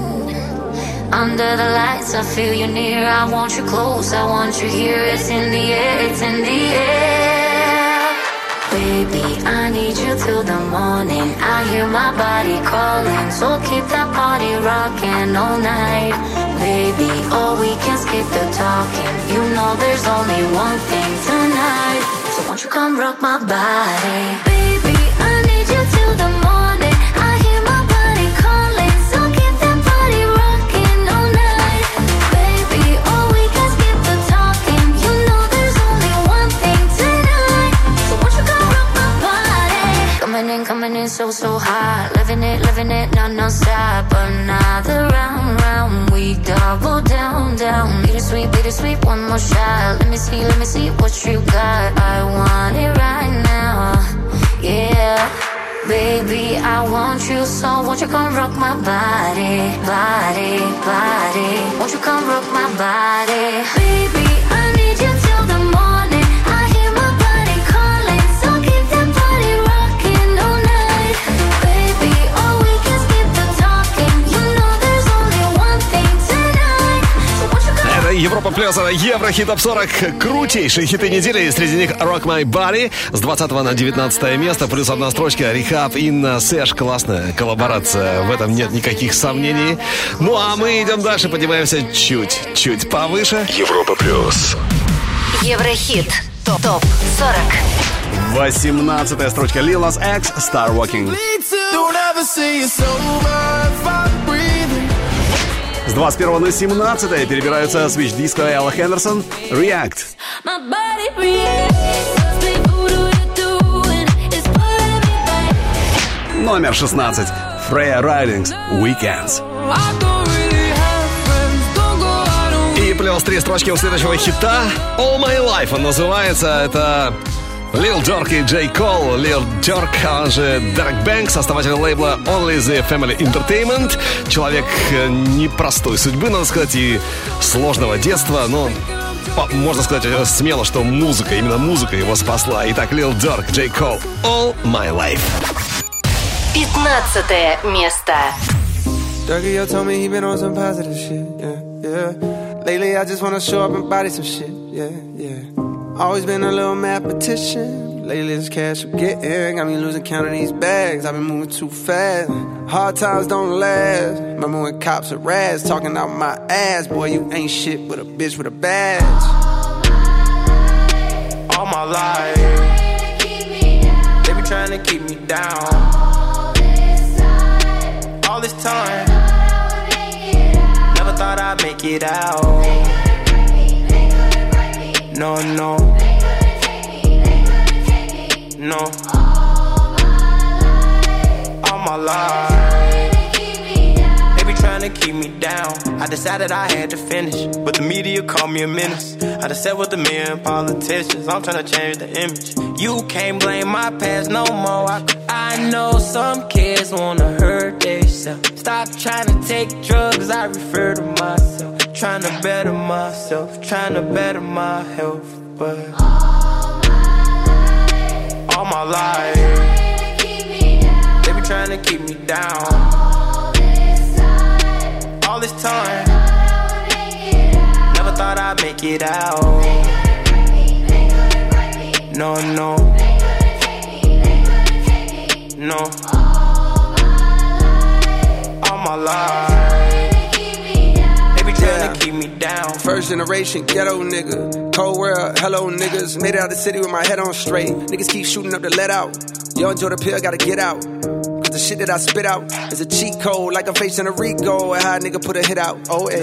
Under the lights, I feel you near. I want you close, I want you here. It's in the air, it's in the air. Baby, I need you till the morning. I hear my body calling, so keep that body rocking all night. Baby, oh, we can skip the talking. You know there's only one thing tonight. So won't you come rock my body? Baby, I need you till the morning. I hear my body calling, so keep that body rocking all night. Baby, oh, we can skip the talking. You know there's only one thing tonight. So won't you come rock my body? Coming in, coming in so, so hot. Living it, living it, non, non-stop. Another round, round. We double down, down. Bittersweet, bittersweet, one more shot. Let me see, let me see what you got. I want it right now. Yeah. Baby, I want you, so won't you come rock my body, body, body. Won't you come rock my body? Baby, I need you till the morning. I hear my body calling, so keep that body rocking all night. Baby, oh, we can skip the talking. You know there's only one thing tonight. So won't you come Это Европа плюс, это Еврохит топ сорок. Крутейшие хиты недели, и среди них Rock My Body с двадцатого на девятнадцатое место, плюс одна строчка. Рехаб, Инна, Сэш, классная коллаборация, в этом нет никаких сомнений. Ну а мы идем дальше, поднимаемся чуть-чуть повыше. Европа плюс. Еврохит топ сорок. восемнадцатая строчка. Lil Nas X, Star Walking. С двадцать первого на семнадцатое перебираются Switch Disco и Элла Хендерсон. React. Номер шестнадцать. Freya Ridings, Weekends. И плюс три строчки у следующего хита. All My Life он называется. Это Lil Durk и J. Cole. Lil Durk, он же Derek Banks, основатель лейбла Only the Family Entertainment. Человек непростой судьбы, надо сказать, и сложного детства, но можно сказать смело, что музыка, именно музыка его спасла. Итак, Lil Durk, J. Cole, All My Life. пятнадцатое место. Durky, yo told me he been on some positive shit, yeah, yeah. Lately I just wanna show up and body some shit, yeah, yeah. Always been a little mathematician. Lately this cash I'm getting got me losing count of these bags. I've been moving too fast. Hard times don't last. Remember when cops are rats talking out my ass. Boy, you ain't shit but a bitch with a badge. All my life they be trying to keep me down. All this time never thought I'd make it out. No, no, no. All my life they be trying to keep me down. I decided I had to finish, but the media called me a menace. I done sat with a million politicians, I'm trying to change the image. You can't blame my past no more. I, I know some kids wanna hurt themselves. Stop trying to take drugs, I refer to myself. trying to better myself, trying to better my health, but all my life they be trying to keep me down. All this time, never thought I'd make it out. No, no, no. All my life, they be trying to keep me down. First generation ghetto nigga, cold world, hello niggas. Made it out the city with my head on straight. Niggas keep shooting up the let out. Yo, enjoy the pill, gotta get out. Cause the shit that I spit out is a cheat code, like I'm facing a Rico. And how a nigga put a hit out, oh age.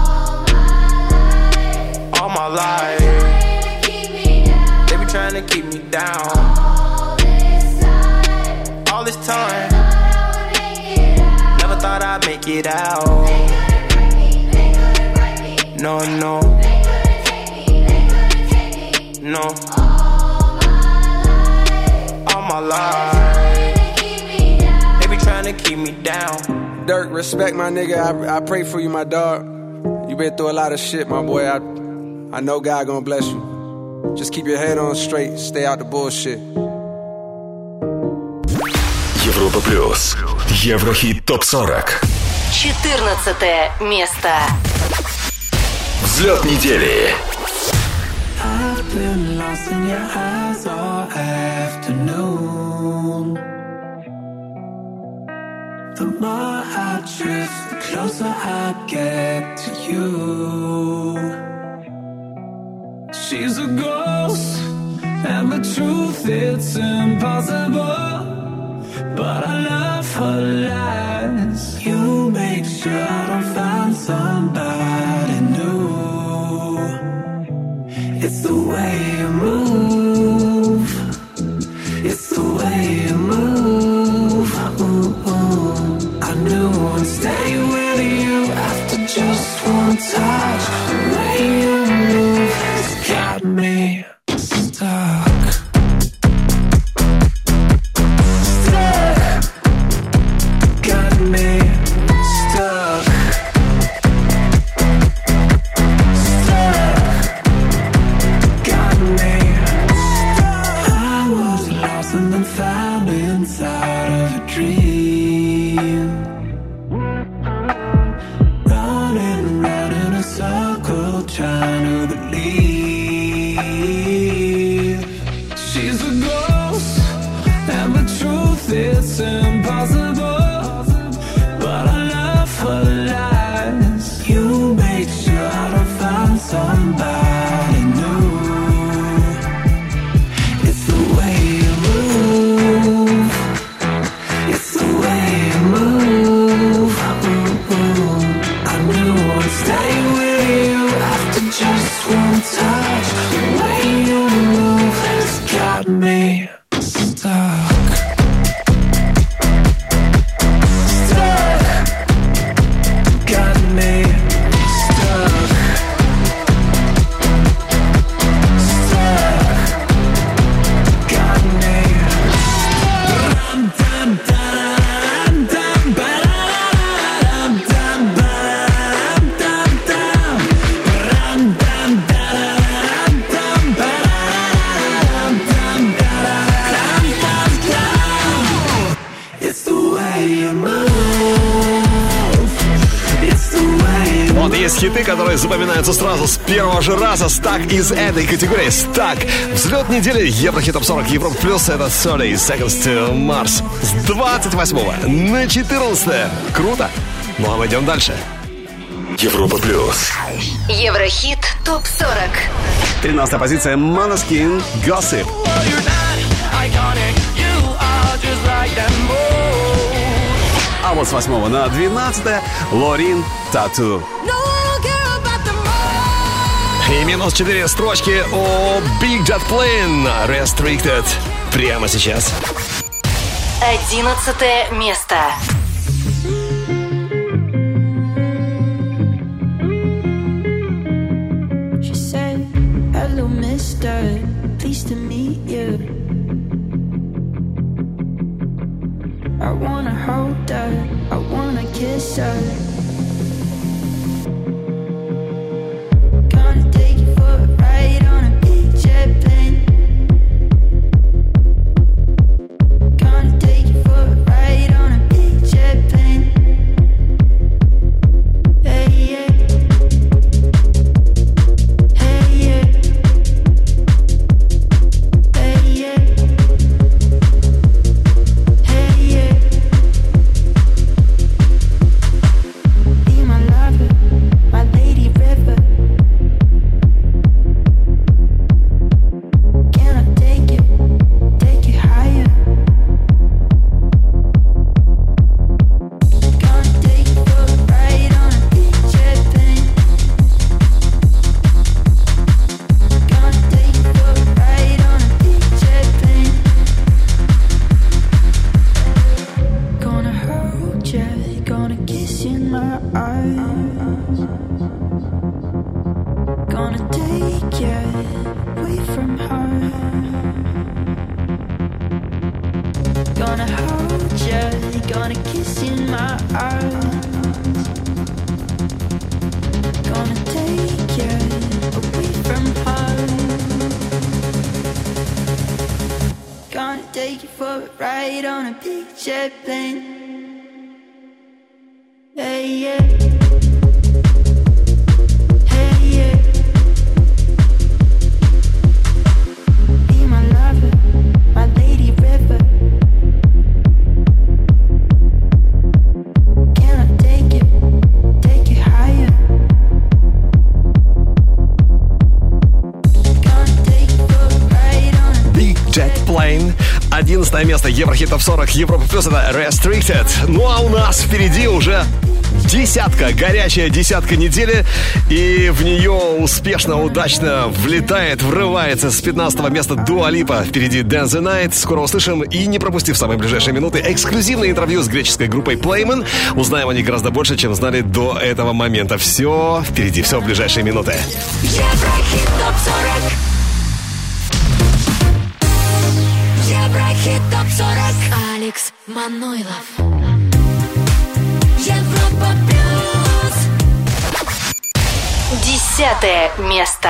All my life, they be trying to keep me down. All this time, never thought I'd make it out. No, no, no. All my life, they be trying to keep me down. Dirk, respect my nigga, I, I pray for you, my dog. You been through a lot of shit, my boy. I, I know God gonna bless you. Just keep your head on straight, stay out the bullshit. Европа плюс. Еврохит топ сорок. четырнадцатое место. Взлет недели. I've been lost in your eyes all afternoon. The more I drift, the closer I get to you. She's a ghost, and the truth, it's impossible. But I love her lies. You make sure I don't find somebody new. It's the way you move. It's the way you move. Ooh, ooh. I knew I'd stay with you after just one touch. The way you move has got me stuck. Хиты, которые запоминаются сразу с первого же раза. Стак из этой категории. Стак. Взлет недели. Еврохит топ сорок. Европа плюс. Это тридцать Seconds to Mars. С двадцать восьмого на четырнадцатое. Круто. Ну а мы идем дальше. Европа плюс. Еврохит топ сорок. тринадцатая позиция. Måneskin. Gossip. А вот с восьмого на двенадцатое. Лорин. Tattoo. И минус четыре строчки о Big Jet Plane Restricted. Прямо сейчас. Одиннадцатое место. She said, hello mister, pleased to meet you. I wanna hold her, I wanna kiss her. you away from home. Gonna hold you, gonna kiss in my arms. Gonna take you away from home. Gonna take you for a ride on a big jet plane. Hey, yeah. Hey, yeah. Be my lover, my lady river. Can I take it, take it higher? Gonna take you for a ride on a Big Jet Plane. одиннадцатое место Еврохит Топ сорок Европа Плюс, это Restricted. Ну а у нас впереди уже десятка, горячая десятка недели. И в нее успешно, удачно влетает, врывается с пятнадцатого места Дуа Липа. Впереди Dance the Night. Скоро услышим и, не пропустив в самые ближайшие минуты, эксклюзивное интервью с греческой группой Playmen. Узнаем о них гораздо больше, чем знали до этого момента. Все впереди, все в ближайшие минуты. Еврохит Топ сорок. Еврохит Топ сорок. Алекс Манойлов. Европа Плюс. Десятое место.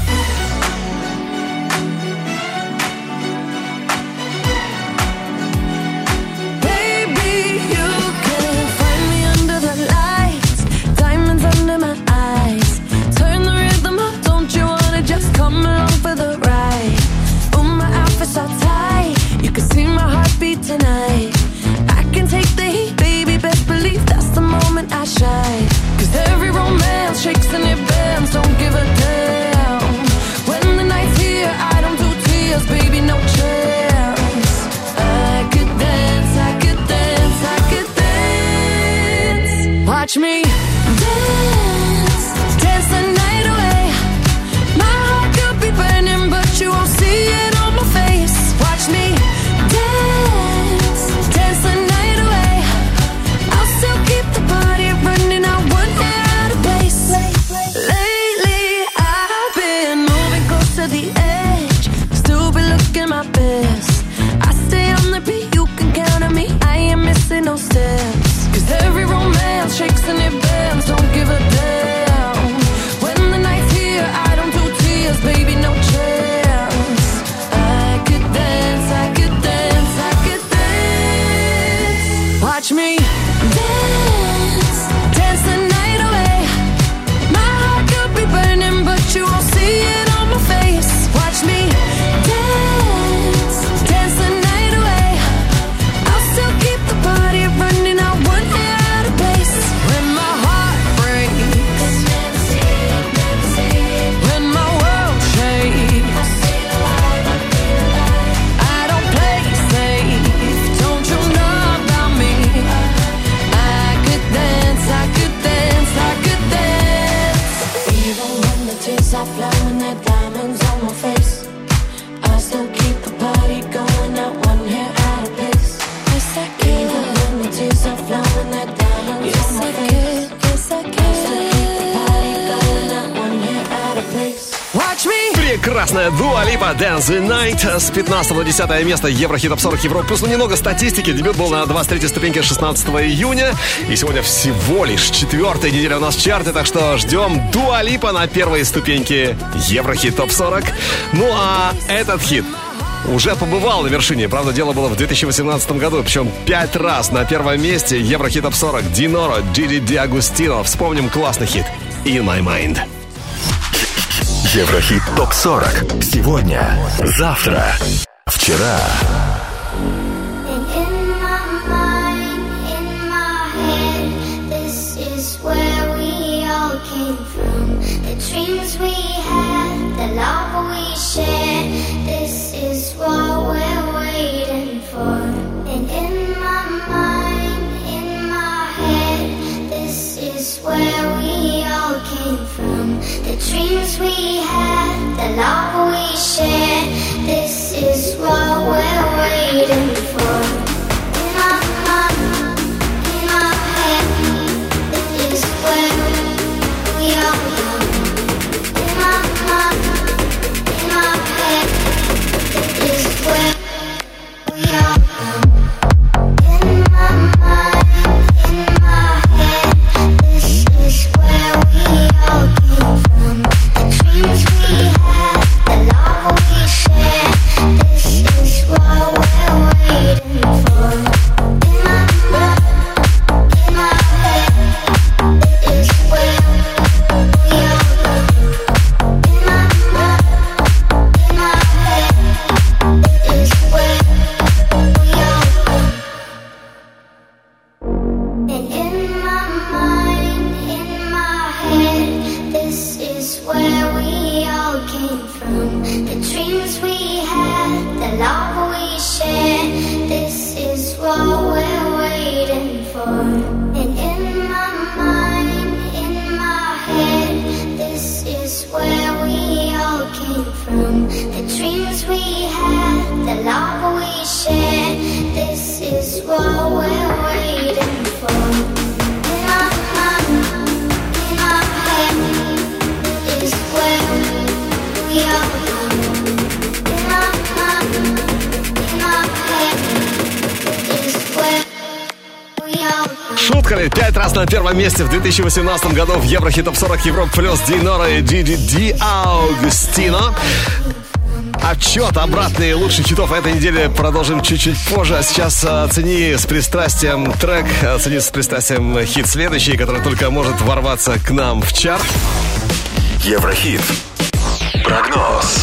Baby, you can find me under the lights, diamonds under my eyes. Turn the rhythm up, don't you wanna just come along for the ride? Oh, my outfit's all tight, you can see my heartbeat tonight. I can take the heat, baby, best believe that's the moment I shine. Cause every romance shakes and it bends, don't give a damn. When the night's here, I don't do tears, baby, no chance. I could dance, I could dance, I could dance. Watch me dance, dance the night away. My heart could be burning, but you won't see it on my face. Watch me dance, dance the night away. I'll still keep the party running, I won't get out of place. Lately I've been moving close to the edge, still be looking my best. I stay on the beat, you can count on me, I ain't missing no steps. Cause every romance shakes and it bends, don't give a damn. When the night's here, I don't do tears, baby, no chance. I could dance, I could dance, I could dance. Watch me dance, dance the night away. My heart could be burning, but you won't see it on my face. Watch me dance, dance the night away. I'll still keep the party running, I won't get out of place. When my heart breaks, when my world shakes, I don't play safe, don't you know about me? I could dance, I could dance, I could dance. Even when the tears are flowing, they're diamonds on my face, I still keep the party going, not one hair out of place. Yes, I can. Even when the tears are flowing, they're diamonds on my face. Yes, I can. I still keep the party going, not one hair out of place. Watch me. Прекрасная Дуа Липа, Dance the Night. С пятнадцатого на десятое место Еврохит Топ сорок Европа Плюс. Ну, немного статистики. Дебют был на двадцать третьей ступеньке шестнадцатого июня. И сегодня всего лишь четвертая неделя у нас в чарте. Так что ждем Дуа Липа на первой ступеньке Еврохит Топ сорок. Ну, а этот хит уже побывал на вершине. Правда, дело было в две тысячи восемнадцатом году. Причем пять раз на первом месте Еврохит Топ сорок. Диноро, Джиди Диагустино. Вспомним классный хит In My Mind. Еврохит Топ сорок. Сегодня, завтра, вчера. Dreams we had, the love we shared, this is what we're waiting for. And in my mind, in my head, this is where we all came from. The dreams we had, the love we shared, this is what we're waiting for. In my mind, in my head, this is where we all came from. we had, the love we shared, this is what we're waiting for. In our mind, in our head, is where we are. In our mind, in our head, is where we are. Шутка ли? Пять раз на первом месте в две тысячи восемнадцатом году в Еврохит Топ сорок Европа плюс Динора и Диди Ди Аугустино. Отчет обратный лучших хитов этой недели продолжим чуть-чуть позже. А сейчас оцени с пристрастием трек, оцени с пристрастием хит следующий, который только может ворваться к нам в чарт. Еврохит. Прогноз.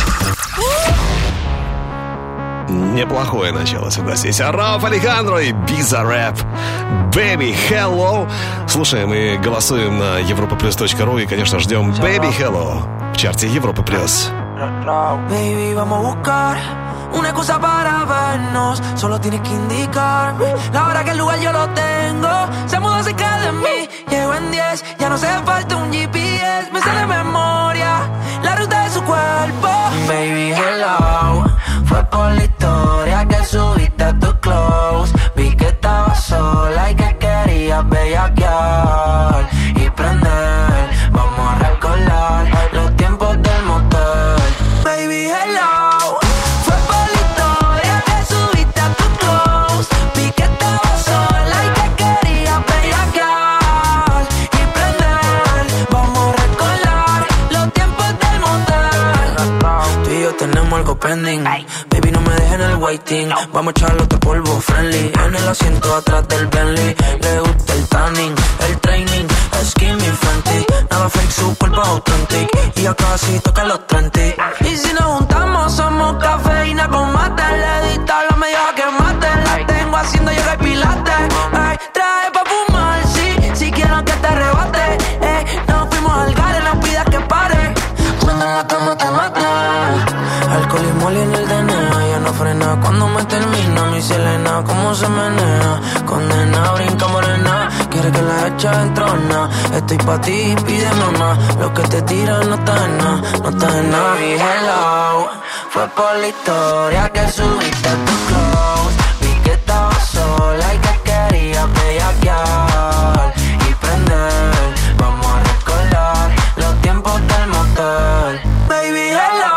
Неплохое начало, согласись. Рауф Алехандро и Bizarre Rap. Baby Hello. Слушаем и голосуем на европа плюс точка ру. И, конечно, ждем Baby Hello в чарте Европа плюс. Baby, vamos a buscar una excusa para vernos. Solo tienes que indicarme la hora que el lugar yo lo tengo. Se mudó cerca de mí, llego en diez. Ya no hace falta un G P S. Me sale de memoria la ruta de su cuerpo. Baby, hello. Fue por la historia que subiste a tu close. Vi que estabas sola y que querías bellaquear y prender. Vamos a recordar los tiempos del motel. Baby, hello. Fue por la historia que subiste a tu close. Vi que estabas sola y que querías bellaquear y prender. Vamos a recordar los tiempos del motel. Tú y yo tenemos algo pending. Baby, no me dejen el waiting. Vamos a echarle otro polvo friendly. En el asiento atrás del Bentley. Le gusta el tanning, el training. Skinny Fenty. Nada fake, su cuerpo authentic. Y ya casi toca los treinta. Y si nos juntamos somos cafeína con mate. Le edita la media que mate. La tengo haciendo yoga y pilates. Ay, trae pa' fumar, sí. Si quiero que te arrebate. Ey, nos fuimos al gare, no pidas que pare. Cuando en la cama te mate. Alcohol y moli en el D N A. Ya no frena cuando me termina. Mi Selena, cómo se menea. Condena, brinca morena. Quiere que la echa en trona. Estoy pa' ti, pídeme más. Lo que te tiran no está en nada. No está en nada. Baby, hello. Fue por la historia que subiste a tu close. Vi que estabas sola y que querías bellaquear y prender. Vamos a recordar los tiempos del motel. Baby, hello.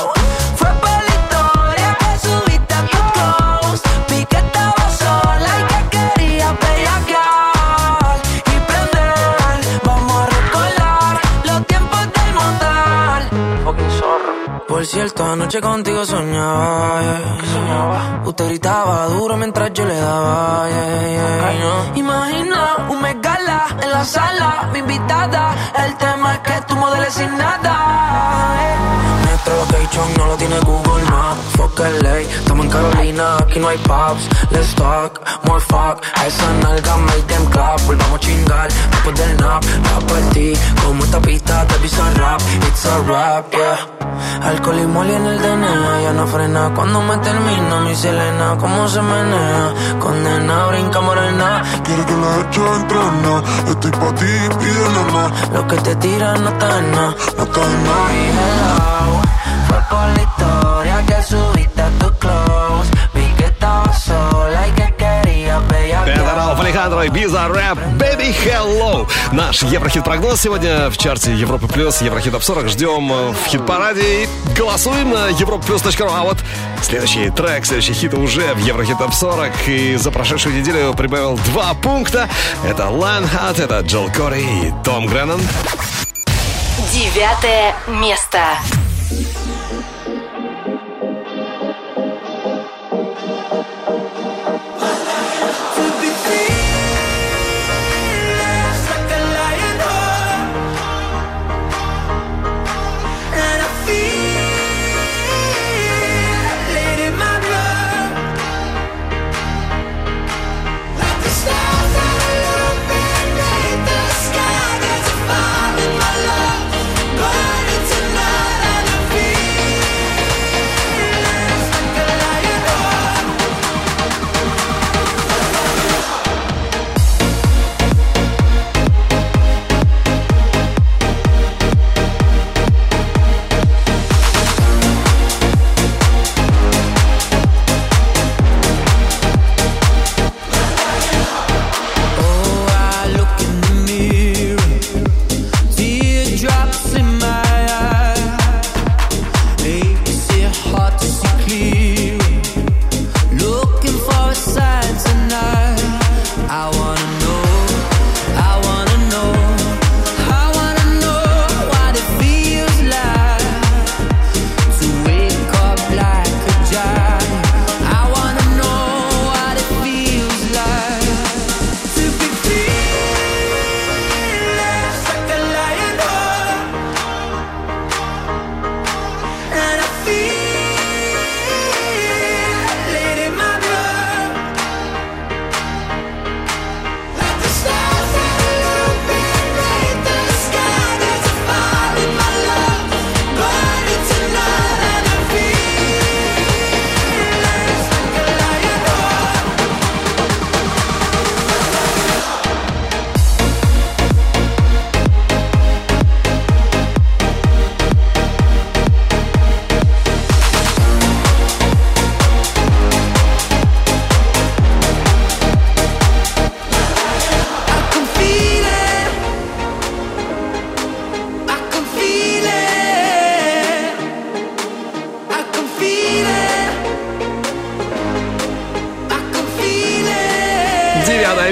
Por cierto, anoche contigo soñaba, yeah. ¿Qué soñaba? Usted gritaba duro mientras yo le daba, yeah, yeah. Ay, no. Imagina un megala en la sala, mi invitada. El tema es que tú modeles sin nada, yeah. Nuestro location no lo tiene Google Maps. Fuck L A, estamos en Carolina, aquí no hay pubs. Let's talk, more fuck. A esa nalga make them clap. Volvamos a chingar después del nap. La partí como esta pista de Bizarre Rap. It's a rap, yeah. Alcohol y moli en el D N A. Ya no frena cuando me termina. Mi Selena, cómo se menea. Condena, brinca morena. Quiere que la eche en trona. Estoy pa' ti, pídele más. Lo que te tiran no está en nada. No está en nada. Hello. Fue por la historia que subiste a tu close. Vi que estabas sola y que querías bellaquear. Это Рауф Алехандро и Bizarre Rap. Baby Hello. Наш Еврохит-прогноз сегодня в чарте Европа Плюс, Еврохит Топ сорок. Ждем в хит-параде и голосуем на европа плюс точка ру. А вот следующий трек, следующий хит уже в Еврохит Топ сорок. И за прошедшую неделю прибавил два пункта. Это Lionheart, это Джол Кори и Том Греннон. Девятое место. Sky, there's a fire in my love, burning tonight, and I feel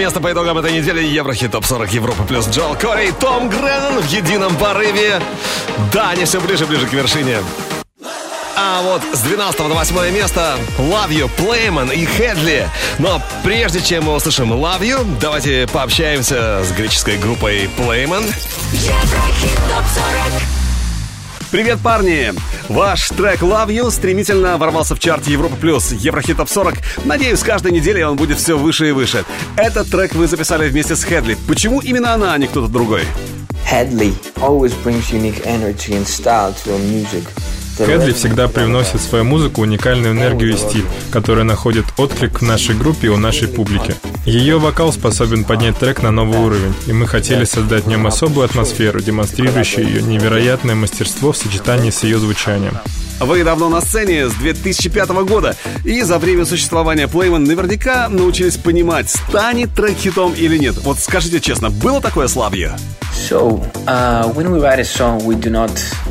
место по итогам этой недели. Еврохит топ сорок Европа плюс Джоэл Корри и Том Греннон в едином порыве. Да, они все ближе и ближе к вершине. А вот с двенадцатого на восьмое место Love You, Playman и Хедли. Но прежде чем мы услышим Love You, давайте пообщаемся с греческой группой Playman. Еврохит топ сорок. Привет, парни! Ваш трек Love You стремительно ворвался в чарт Европа плюс Еврохит топ сорок. Надеюсь, каждой неделе он будет все выше и выше. Этот трек вы записали вместе с Хедли. Почему именно она, а не кто-то другой? Hadley always brings unique energy and style to our music. Хедли всегда привносит в свою музыку уникальную энергию и стиль, который находит отклик в нашей группе и у нашей публики. Ее вокал способен поднять трек на новый уровень, и мы хотели создать в нем особую атмосферу, демонстрирующую ее невероятное мастерство в сочетании с ее звучанием. Вы давно на сцене, с две тысячи пятого года, и за время существования Playman наверняка научились понимать, станет трек хитом или нет. Вот скажите честно, было такое с Love You? So, uh, when we write a song, we do not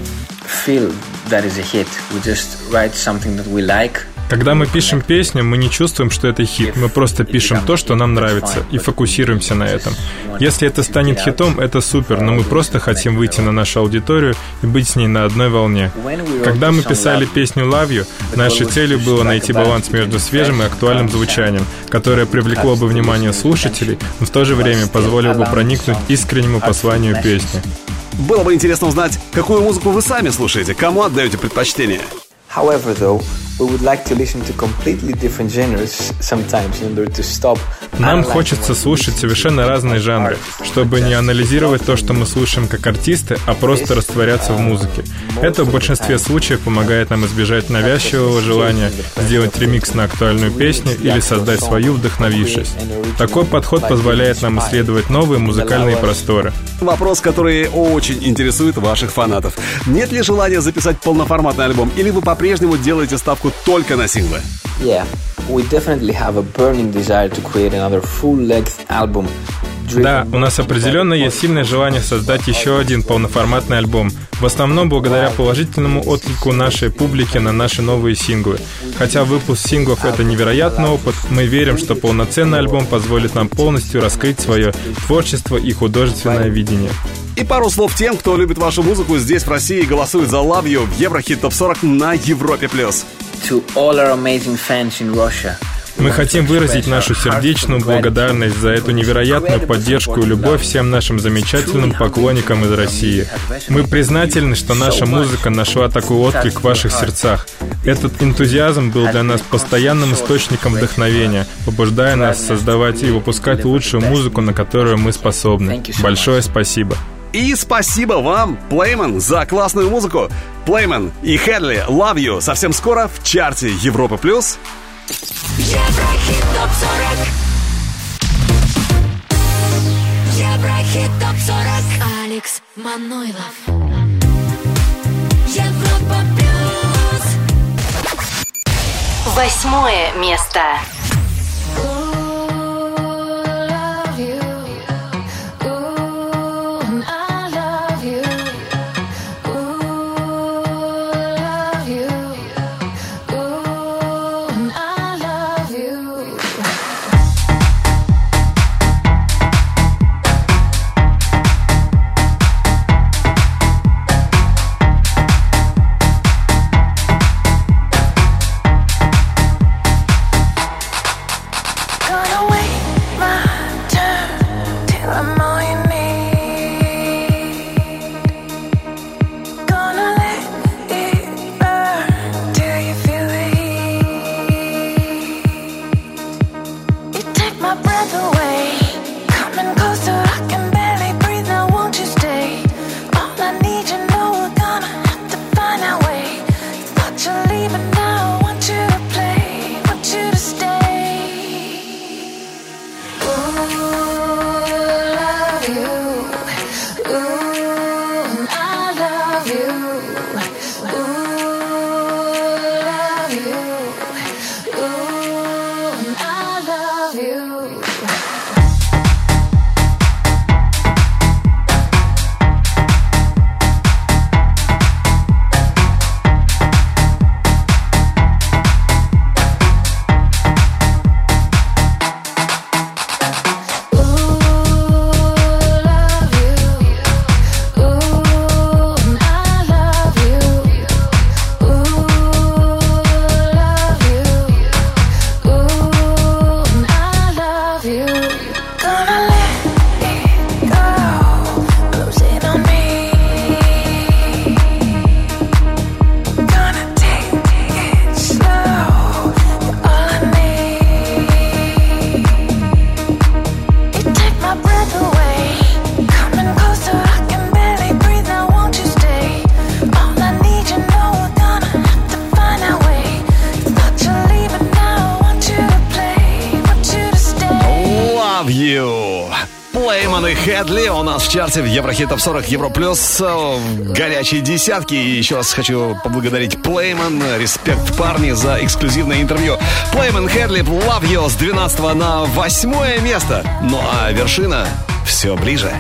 feel that is a hit. We just write something that we like. Когда мы пишем песню, мы не чувствуем, что это хит. Мы просто пишем то, что нам нравится, и фокусируемся на этом. Если это станет хитом, это супер, но мы просто хотим выйти на нашу аудиторию и быть с ней на одной волне. Когда мы писали песню Love You, нашей целью было найти баланс между свежим и актуальным звучанием, которое привлекло бы внимание слушателей, но в то же время позволило бы проникнуть искреннему посланию песни. Было бы интересно узнать, какую музыку вы сами слушаете, кому отдаете предпочтение. However, though, we would like to listen to completely different genres sometimes in order to stop. Нам хочется слушать совершенно разные жанры, чтобы не анализировать то, что мы слушаем как артисты, а просто растворяться в музыке. Это в большинстве случаев помогает нам избежать навязчивого желания сделать ремикс на актуальную песню или создать свою, вдохновившись. Такой подход позволяет нам исследовать новые музыкальные просторы. Вопрос, который очень интересует ваших фанатов. Нет ли желания записать полноформатный альбом, или вы по-прежнему делаете ставку только на синглы? Yeah, we definitely have a burning desire to create another full-length album. Да, у нас определенно есть сильное желание создать еще один полноформатный альбом, в основном благодаря положительному отклику нашей публики на наши новые синглы. Хотя выпуск синглов — это невероятный опыт, мы верим, что полноценный альбом позволит нам полностью раскрыть свое творчество и художественное видение. И пару слов тем, кто любит вашу музыку здесь, в России, и голосует за Love You в Еврохит топ сорок на Европе плюс. To all our amazing fans in Russia. Мы хотим выразить нашу сердечную благодарность за эту невероятную поддержку и любовь всем нашим замечательным поклонникам из России. Мы признательны, что наша музыка нашла такой отклик в ваших сердцах. Этот энтузиазм был для нас постоянным источником вдохновения, побуждая нас создавать и выпускать лучшую музыку, на которую мы способны. Большое спасибо. И спасибо вам, Playman, за классную музыку. Playman и Хедли, Love You, совсем скоро в чарте Европа плюс. Еврохит топ сорок. Еврохит топ сорок. Алекс Манойлов. Европа плюс. Восьмое место. Плейман и Хедли у нас в чарте в Еврохит Топ сорок Евро Плюс в горячей десятке. И еще раз хочу поблагодарить Плейман. Респект, парни, за эксклюзивное интервью. Плейман, Хедли, Love You с двенадцатого на восьмое место. Ну а вершина все ближе.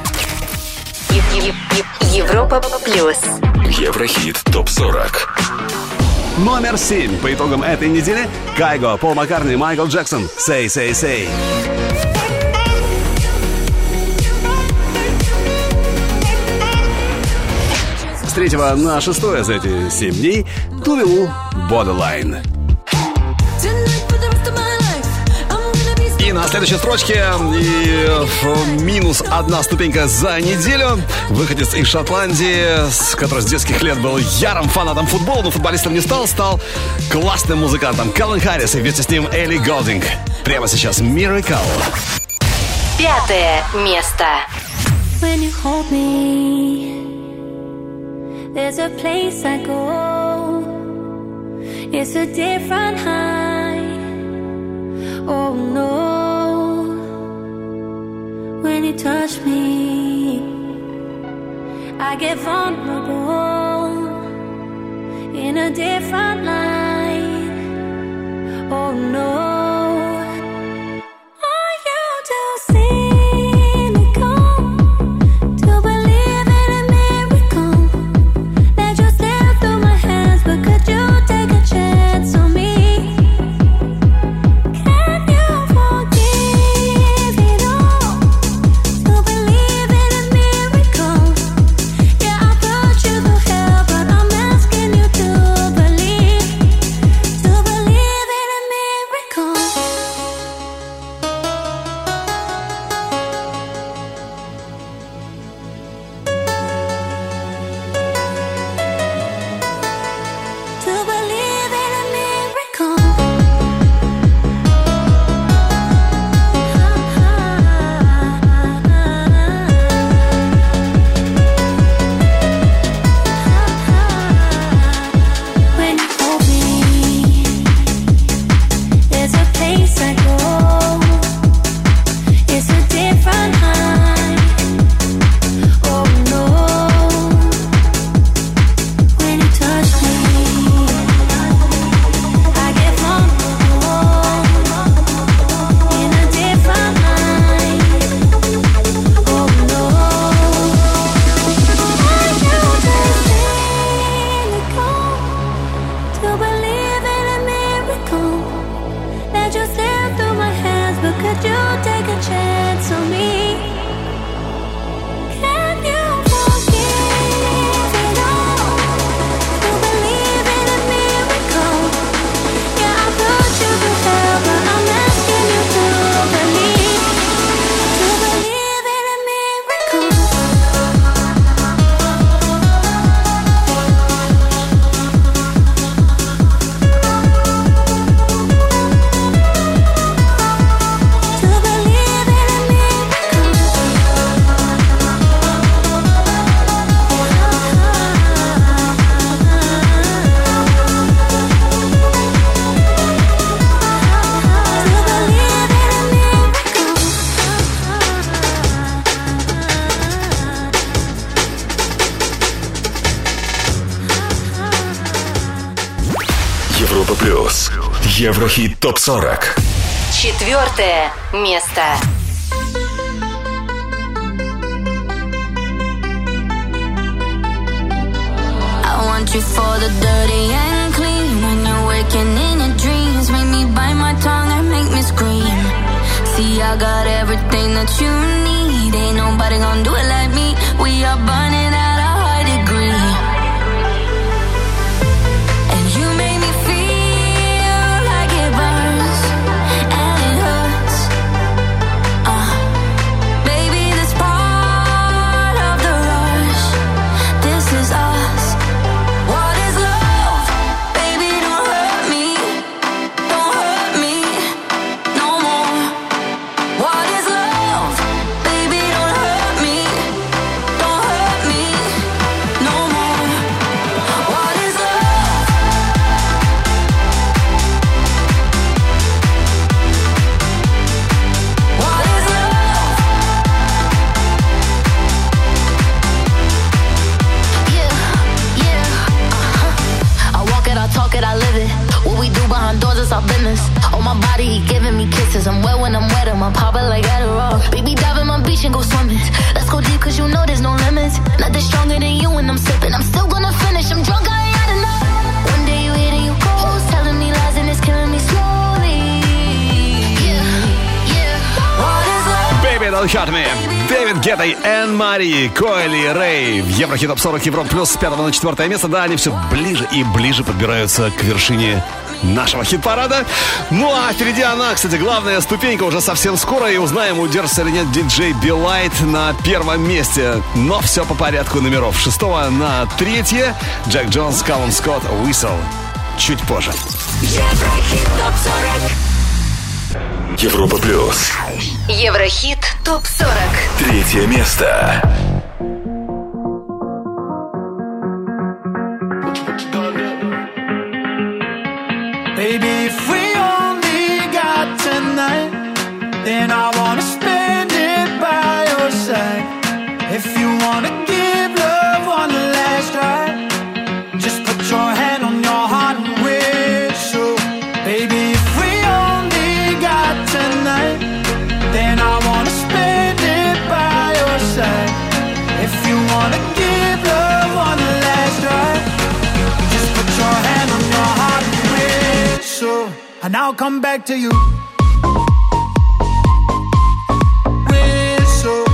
Европа Плюс. Еврохит Топ сорок. Номер семь по итогам этой недели. Кайго, Пол Маккартни, Майкл Джексон. Say, say, say. С третьего на шестое за эти семь дней Тувелу, Borderline. И на следующей строчке и минус одна ступенька за неделю. Выходец из Шотландии, который с детских лет был ярым фанатом футбола, но футболистом не стал, стал классным музыкантом. Калвин Харрис и вместе с ним Элли Голдинг. Прямо сейчас Miracle. Пятое место. When you hold me, there's a place I go. It's a different high. Oh no. When you touch me, I get vulnerable in a different light. Oh no. Еврохит Топ сорок. Четвертое место. I want you for the dirty and clean. When you're waking in your dreams, make me bite my tongue and make me scream. See, I got everything that you need. Ain't nobody gonna do it like me. We are burning at a high degree. And you make me feel like it burns and it hurts. Uh, baby, this part of the rush. This is us. What is love? Baby, don't hurt me. Don't hurt me no more. What is love? Baby, don't hurt me. Don't hurt me. it's our business. On my body, he giving me kisses. I'm wet when I'm wet, I'm popping like Adderall. Baby, dive in my beach and go swimming. Let's go deep, cause you know there's no limits. Nothing stronger than you when I'm sipping. I'm still gonna finish, I'm drunk, I ain't had enough. One day you hit and you close, telling me lies and it's killing me slowly. Yeah, yeah. What is love? Baby, don't hurt me. Дэвид Гетта и Энн Мари, Койли Рэй в Еврохит Топ сорок Европа Плюс с пятого на четвертое место. Да, они все ближе и ближе подбираются к вершине нашего хит-парада. Ну а впереди она, кстати, главная ступенька уже совсем скоро. И узнаем, удержится или нет диджей Билайт на первом месте. Но все по порядку номеров. Шестого на третье Джек Джонс, Калум Скотт, Whistle. Чуть позже. Еврохит Топ сорок. Европа Плюс. Еврохит Топ сорок. Третье место. Baby, if we only got tonight, then I wanna spend it by your side. If you wanna give love one last try, just put your hand on your heart and whistle. Baby, if we only got tonight, then I wanna spend it by your side. If you wanna give love one last try, just put your hand on your heart and whistle, and I'll come back to you. Whistle,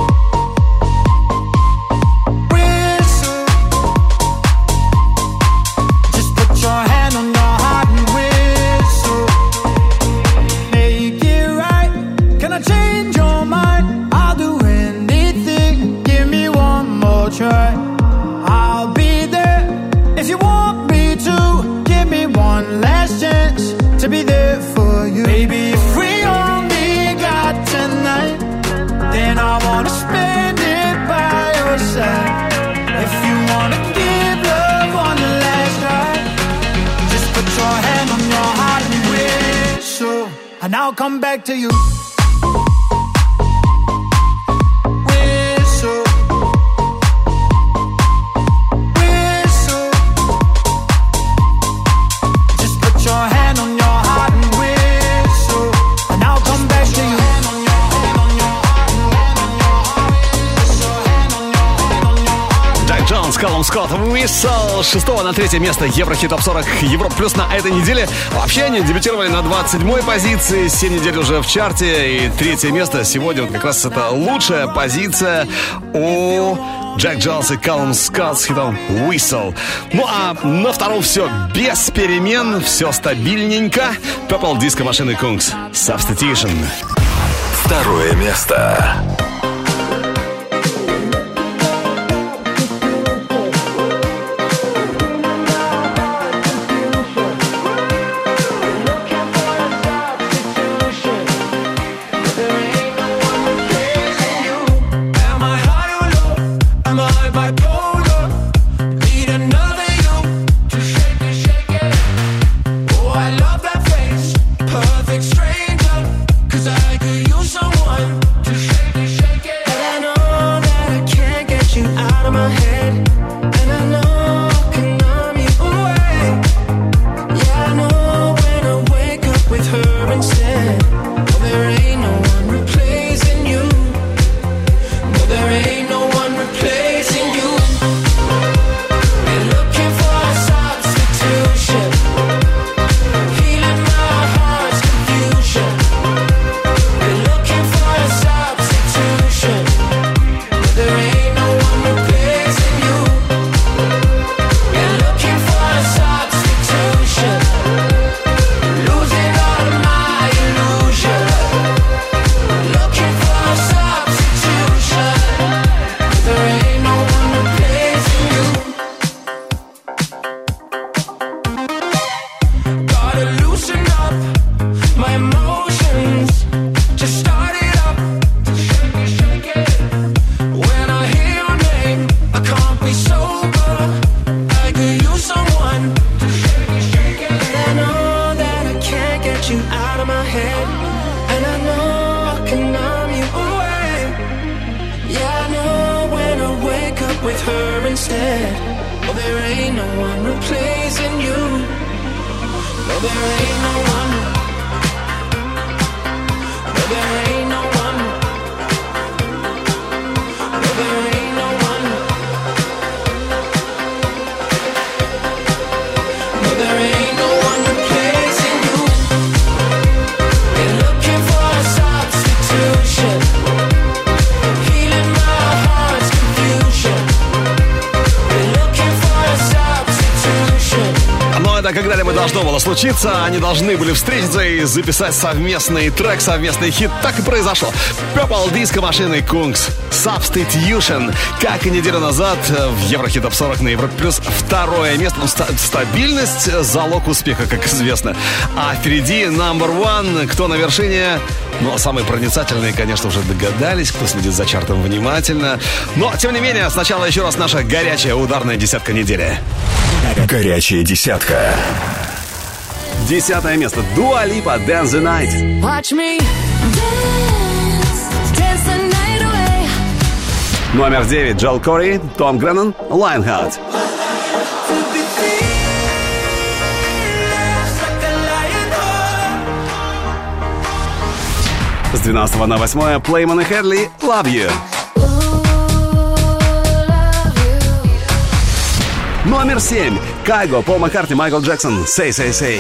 whistle, just put your hand on your heart and whistle. Make it right. Can I change your mind? I'll do anything. Give me one more try. I'll be there if you want me to. Give me one last chance to be there for you. Baby, if we only got tonight, then I wanna spend it by your side. If you wanna give love one last try, just put your hand on your heart and whistle, and I'll come back to you. Whistle, whistle, just put your hand on your heart and whistle, and I'll come back to you. Джек Джонс, Калум Скотт, Whistle. С шестого на третье место Еврохит Топ сорок Европа Плюс на этой неделе. Вообще они дебютировали на двадцать седьмой позиции, семь недель уже в чарте. И третье место сегодня вот как раз это лучшая позиция у Джек Джонс и Калум Скотт с хитом Whistle. Ну а на втором все без перемен, все стабильненько. Purple Disco Machine Kungs, Substitution. Второе место. Am I high or low? Am I bipolar? Need another you to shake it, shake it. Oh, I love that face, perfect stranger. 'Cause I could use someone to shake it, shake it. And I know that I can't get you out of my head. And I know I can numb you away. Yeah, I know when I wake up with her instead. Oh, there ain't no one replacing you. No, there ain't no one replacing you. Been looking for a substitution, healing my heart's confusion. Been looking for a substitution. No, there ain't no one replacing you. Been looking for a substitution, losing all of my illusion. Looking for a substitution. There ain't no one replacing you. Gotta loosen up my emotions. Just start it up. Shake it, shake it. When I hear your name, I can't be sober. I could use someone to shake it, shake it. And I know that I can't get you out of my head. And I know I can numb you away. Yeah, I know when I wake up with her instead. Oh, there ain't no one replacing you. No, there ain't no one это когда мы должно было случиться. Они должны были встретиться и записать совместный трек, совместный хит. Так и произошло. Purple Disco Machine и Kungs. Substitution. Как и неделю назад в Еврохит Топ сорок на Европе Плюс второе место. Ну, ста- стабильность — залог успеха, как известно. А впереди Number One. Кто на вершине? Ну, самые проницательные, конечно, уже догадались, кто следит за чартом внимательно. Но, тем не менее, сначала еще раз наша горячая ударная десятка недели. Горячая десятка. Десятое место. Дуа Липа, Dance the Night. Watch me dance, dance the night away. Номер девять. Джоэл Кори, Том Греннон, Lionheart. С двенадцатого на восьмое. Плейман и Хедли, Love You. Номер семь. Кайго, Пол Маккартни, Майкл Джексон, Say, Say, Say.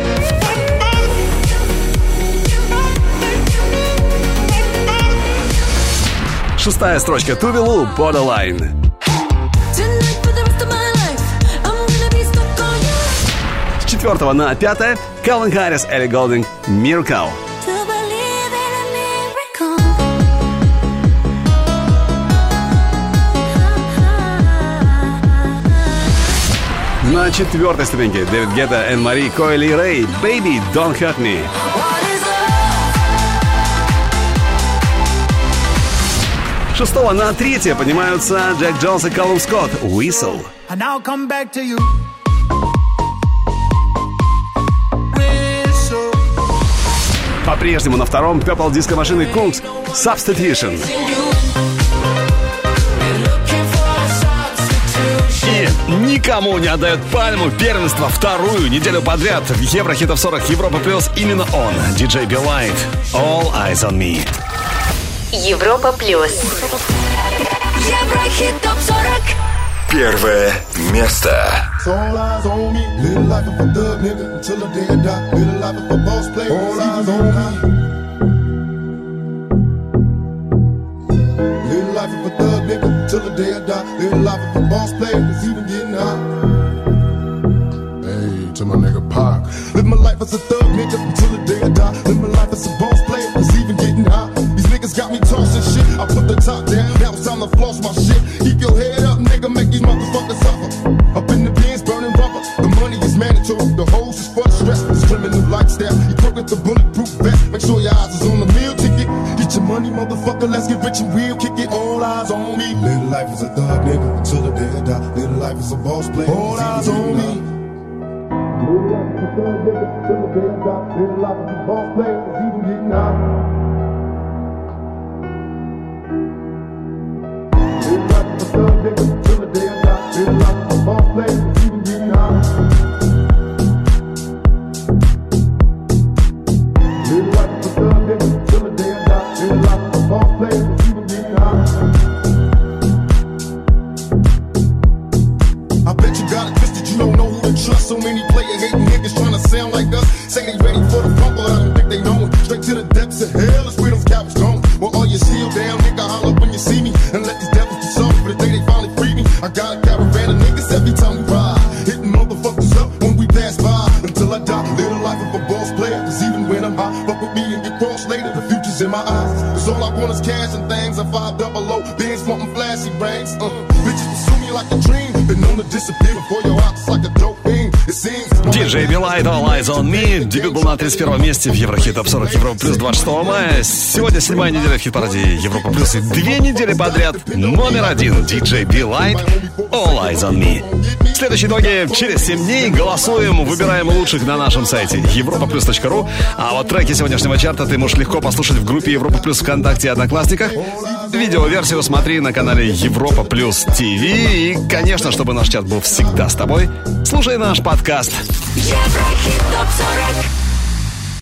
Шестая строчка. Тувелу, Borderline. С четвертого на пятое. Калвин Харрис, Элли Голдинг, Miracle. На четвертой ступеньке Дэвид Гетта, Энн Мари, Койли и Рэй, Baby, Don't Hurt Me. Шестого на третье поднимаются Джек Джонс и Колум Скотт, Whistle. По-прежнему на втором Purple Disco Machine и Kungs, Substitution. И никому не отдает пальму первенства вторую неделю подряд в Еврохит Топ сорок Европа Плюс. Именно он, диджей Be Light, All Eyes on Me. Европа Плюс. Еврохит Топ сорок. Первое место. All eyes on me. Live life of a thug nigga until the day I die. Live life of a boss player. All eyes on me. Live life of a thug nigga until the day I die. Live life of a boss player. It's even getting hot. Hey, to my nigga Pac. Live my life as a thug nigga until the day I die. Live my life as a boss player. It's even getting hot. These niggas got me tossing shit. I put the top down. Now it's time to floss my shit. Keep your head up, nigga. Make these motherfuckers suffer. Up in the bins, burning rubber. The money is mandatory. The hose is for the stress. This criminal lifestyle. You crook with the bulletproof vest. Make sure your eyes is on the meal ticket. Get your money, motherfucker. Let's get rich and real. Kick it. All eyes on me. Live life as a thug nigga until the day I die. Live life as a boss player. All eyes on me. Live life as a thug nigga until the day I die. Live life as a boss player. It's even getting hot. Live life as a thug nigga until the day I die. Live life as a boss player. It's even getting hot. Live life as a thug nigga until the day I die. Live life as a boss player. It's even getting hot. I bet you got it twisted, you don't know who to trust. So many player hating niggas trying to sound like us. Say they ready for the rumble, I don't think they know it. Straight to the depths of hell is where those cowards going. Well, all you seal down, nigga, holler when you see me. And let these devils be sorry for the day they finally free me. I got a caravan of niggas every time we ride. Hitting motherfuckers up when we pass by. Until I die, live the life of a boss player. Cause even when I'm high, fuck with me and get crossed later. The future's in my eyes. Cause all I want is cash and things. I five double O, bands wanting flashy rings. Uh, bitches pursue me like a dream. Been known to disappear before your eyes like a dope fiend. It seems. диджей Be Light, All Eyes on Me. Дебют был на тридцать первом месте в Еврохит Топ сорок Европа Плюс двадцать шестого мая. Сегодня седьмая неделя в хит-параде Европа Плюс. И две недели подряд номер один диджей Be Light, All Eyes on Me. Следующие итоги через семь дней. Голосуем, выбираем лучших на нашем сайте европа плюс точка ру. А вот треки сегодняшнего чарта ты можешь легко послушать в группе Европа Плюс ВКонтакте и Одноклассниках. Видеоверсию смотри на канале Европа Плюс ТВ. И, конечно, чтобы наш чат был всегда с тобой, слушай наш подкаст. Еврохит Топ сорок.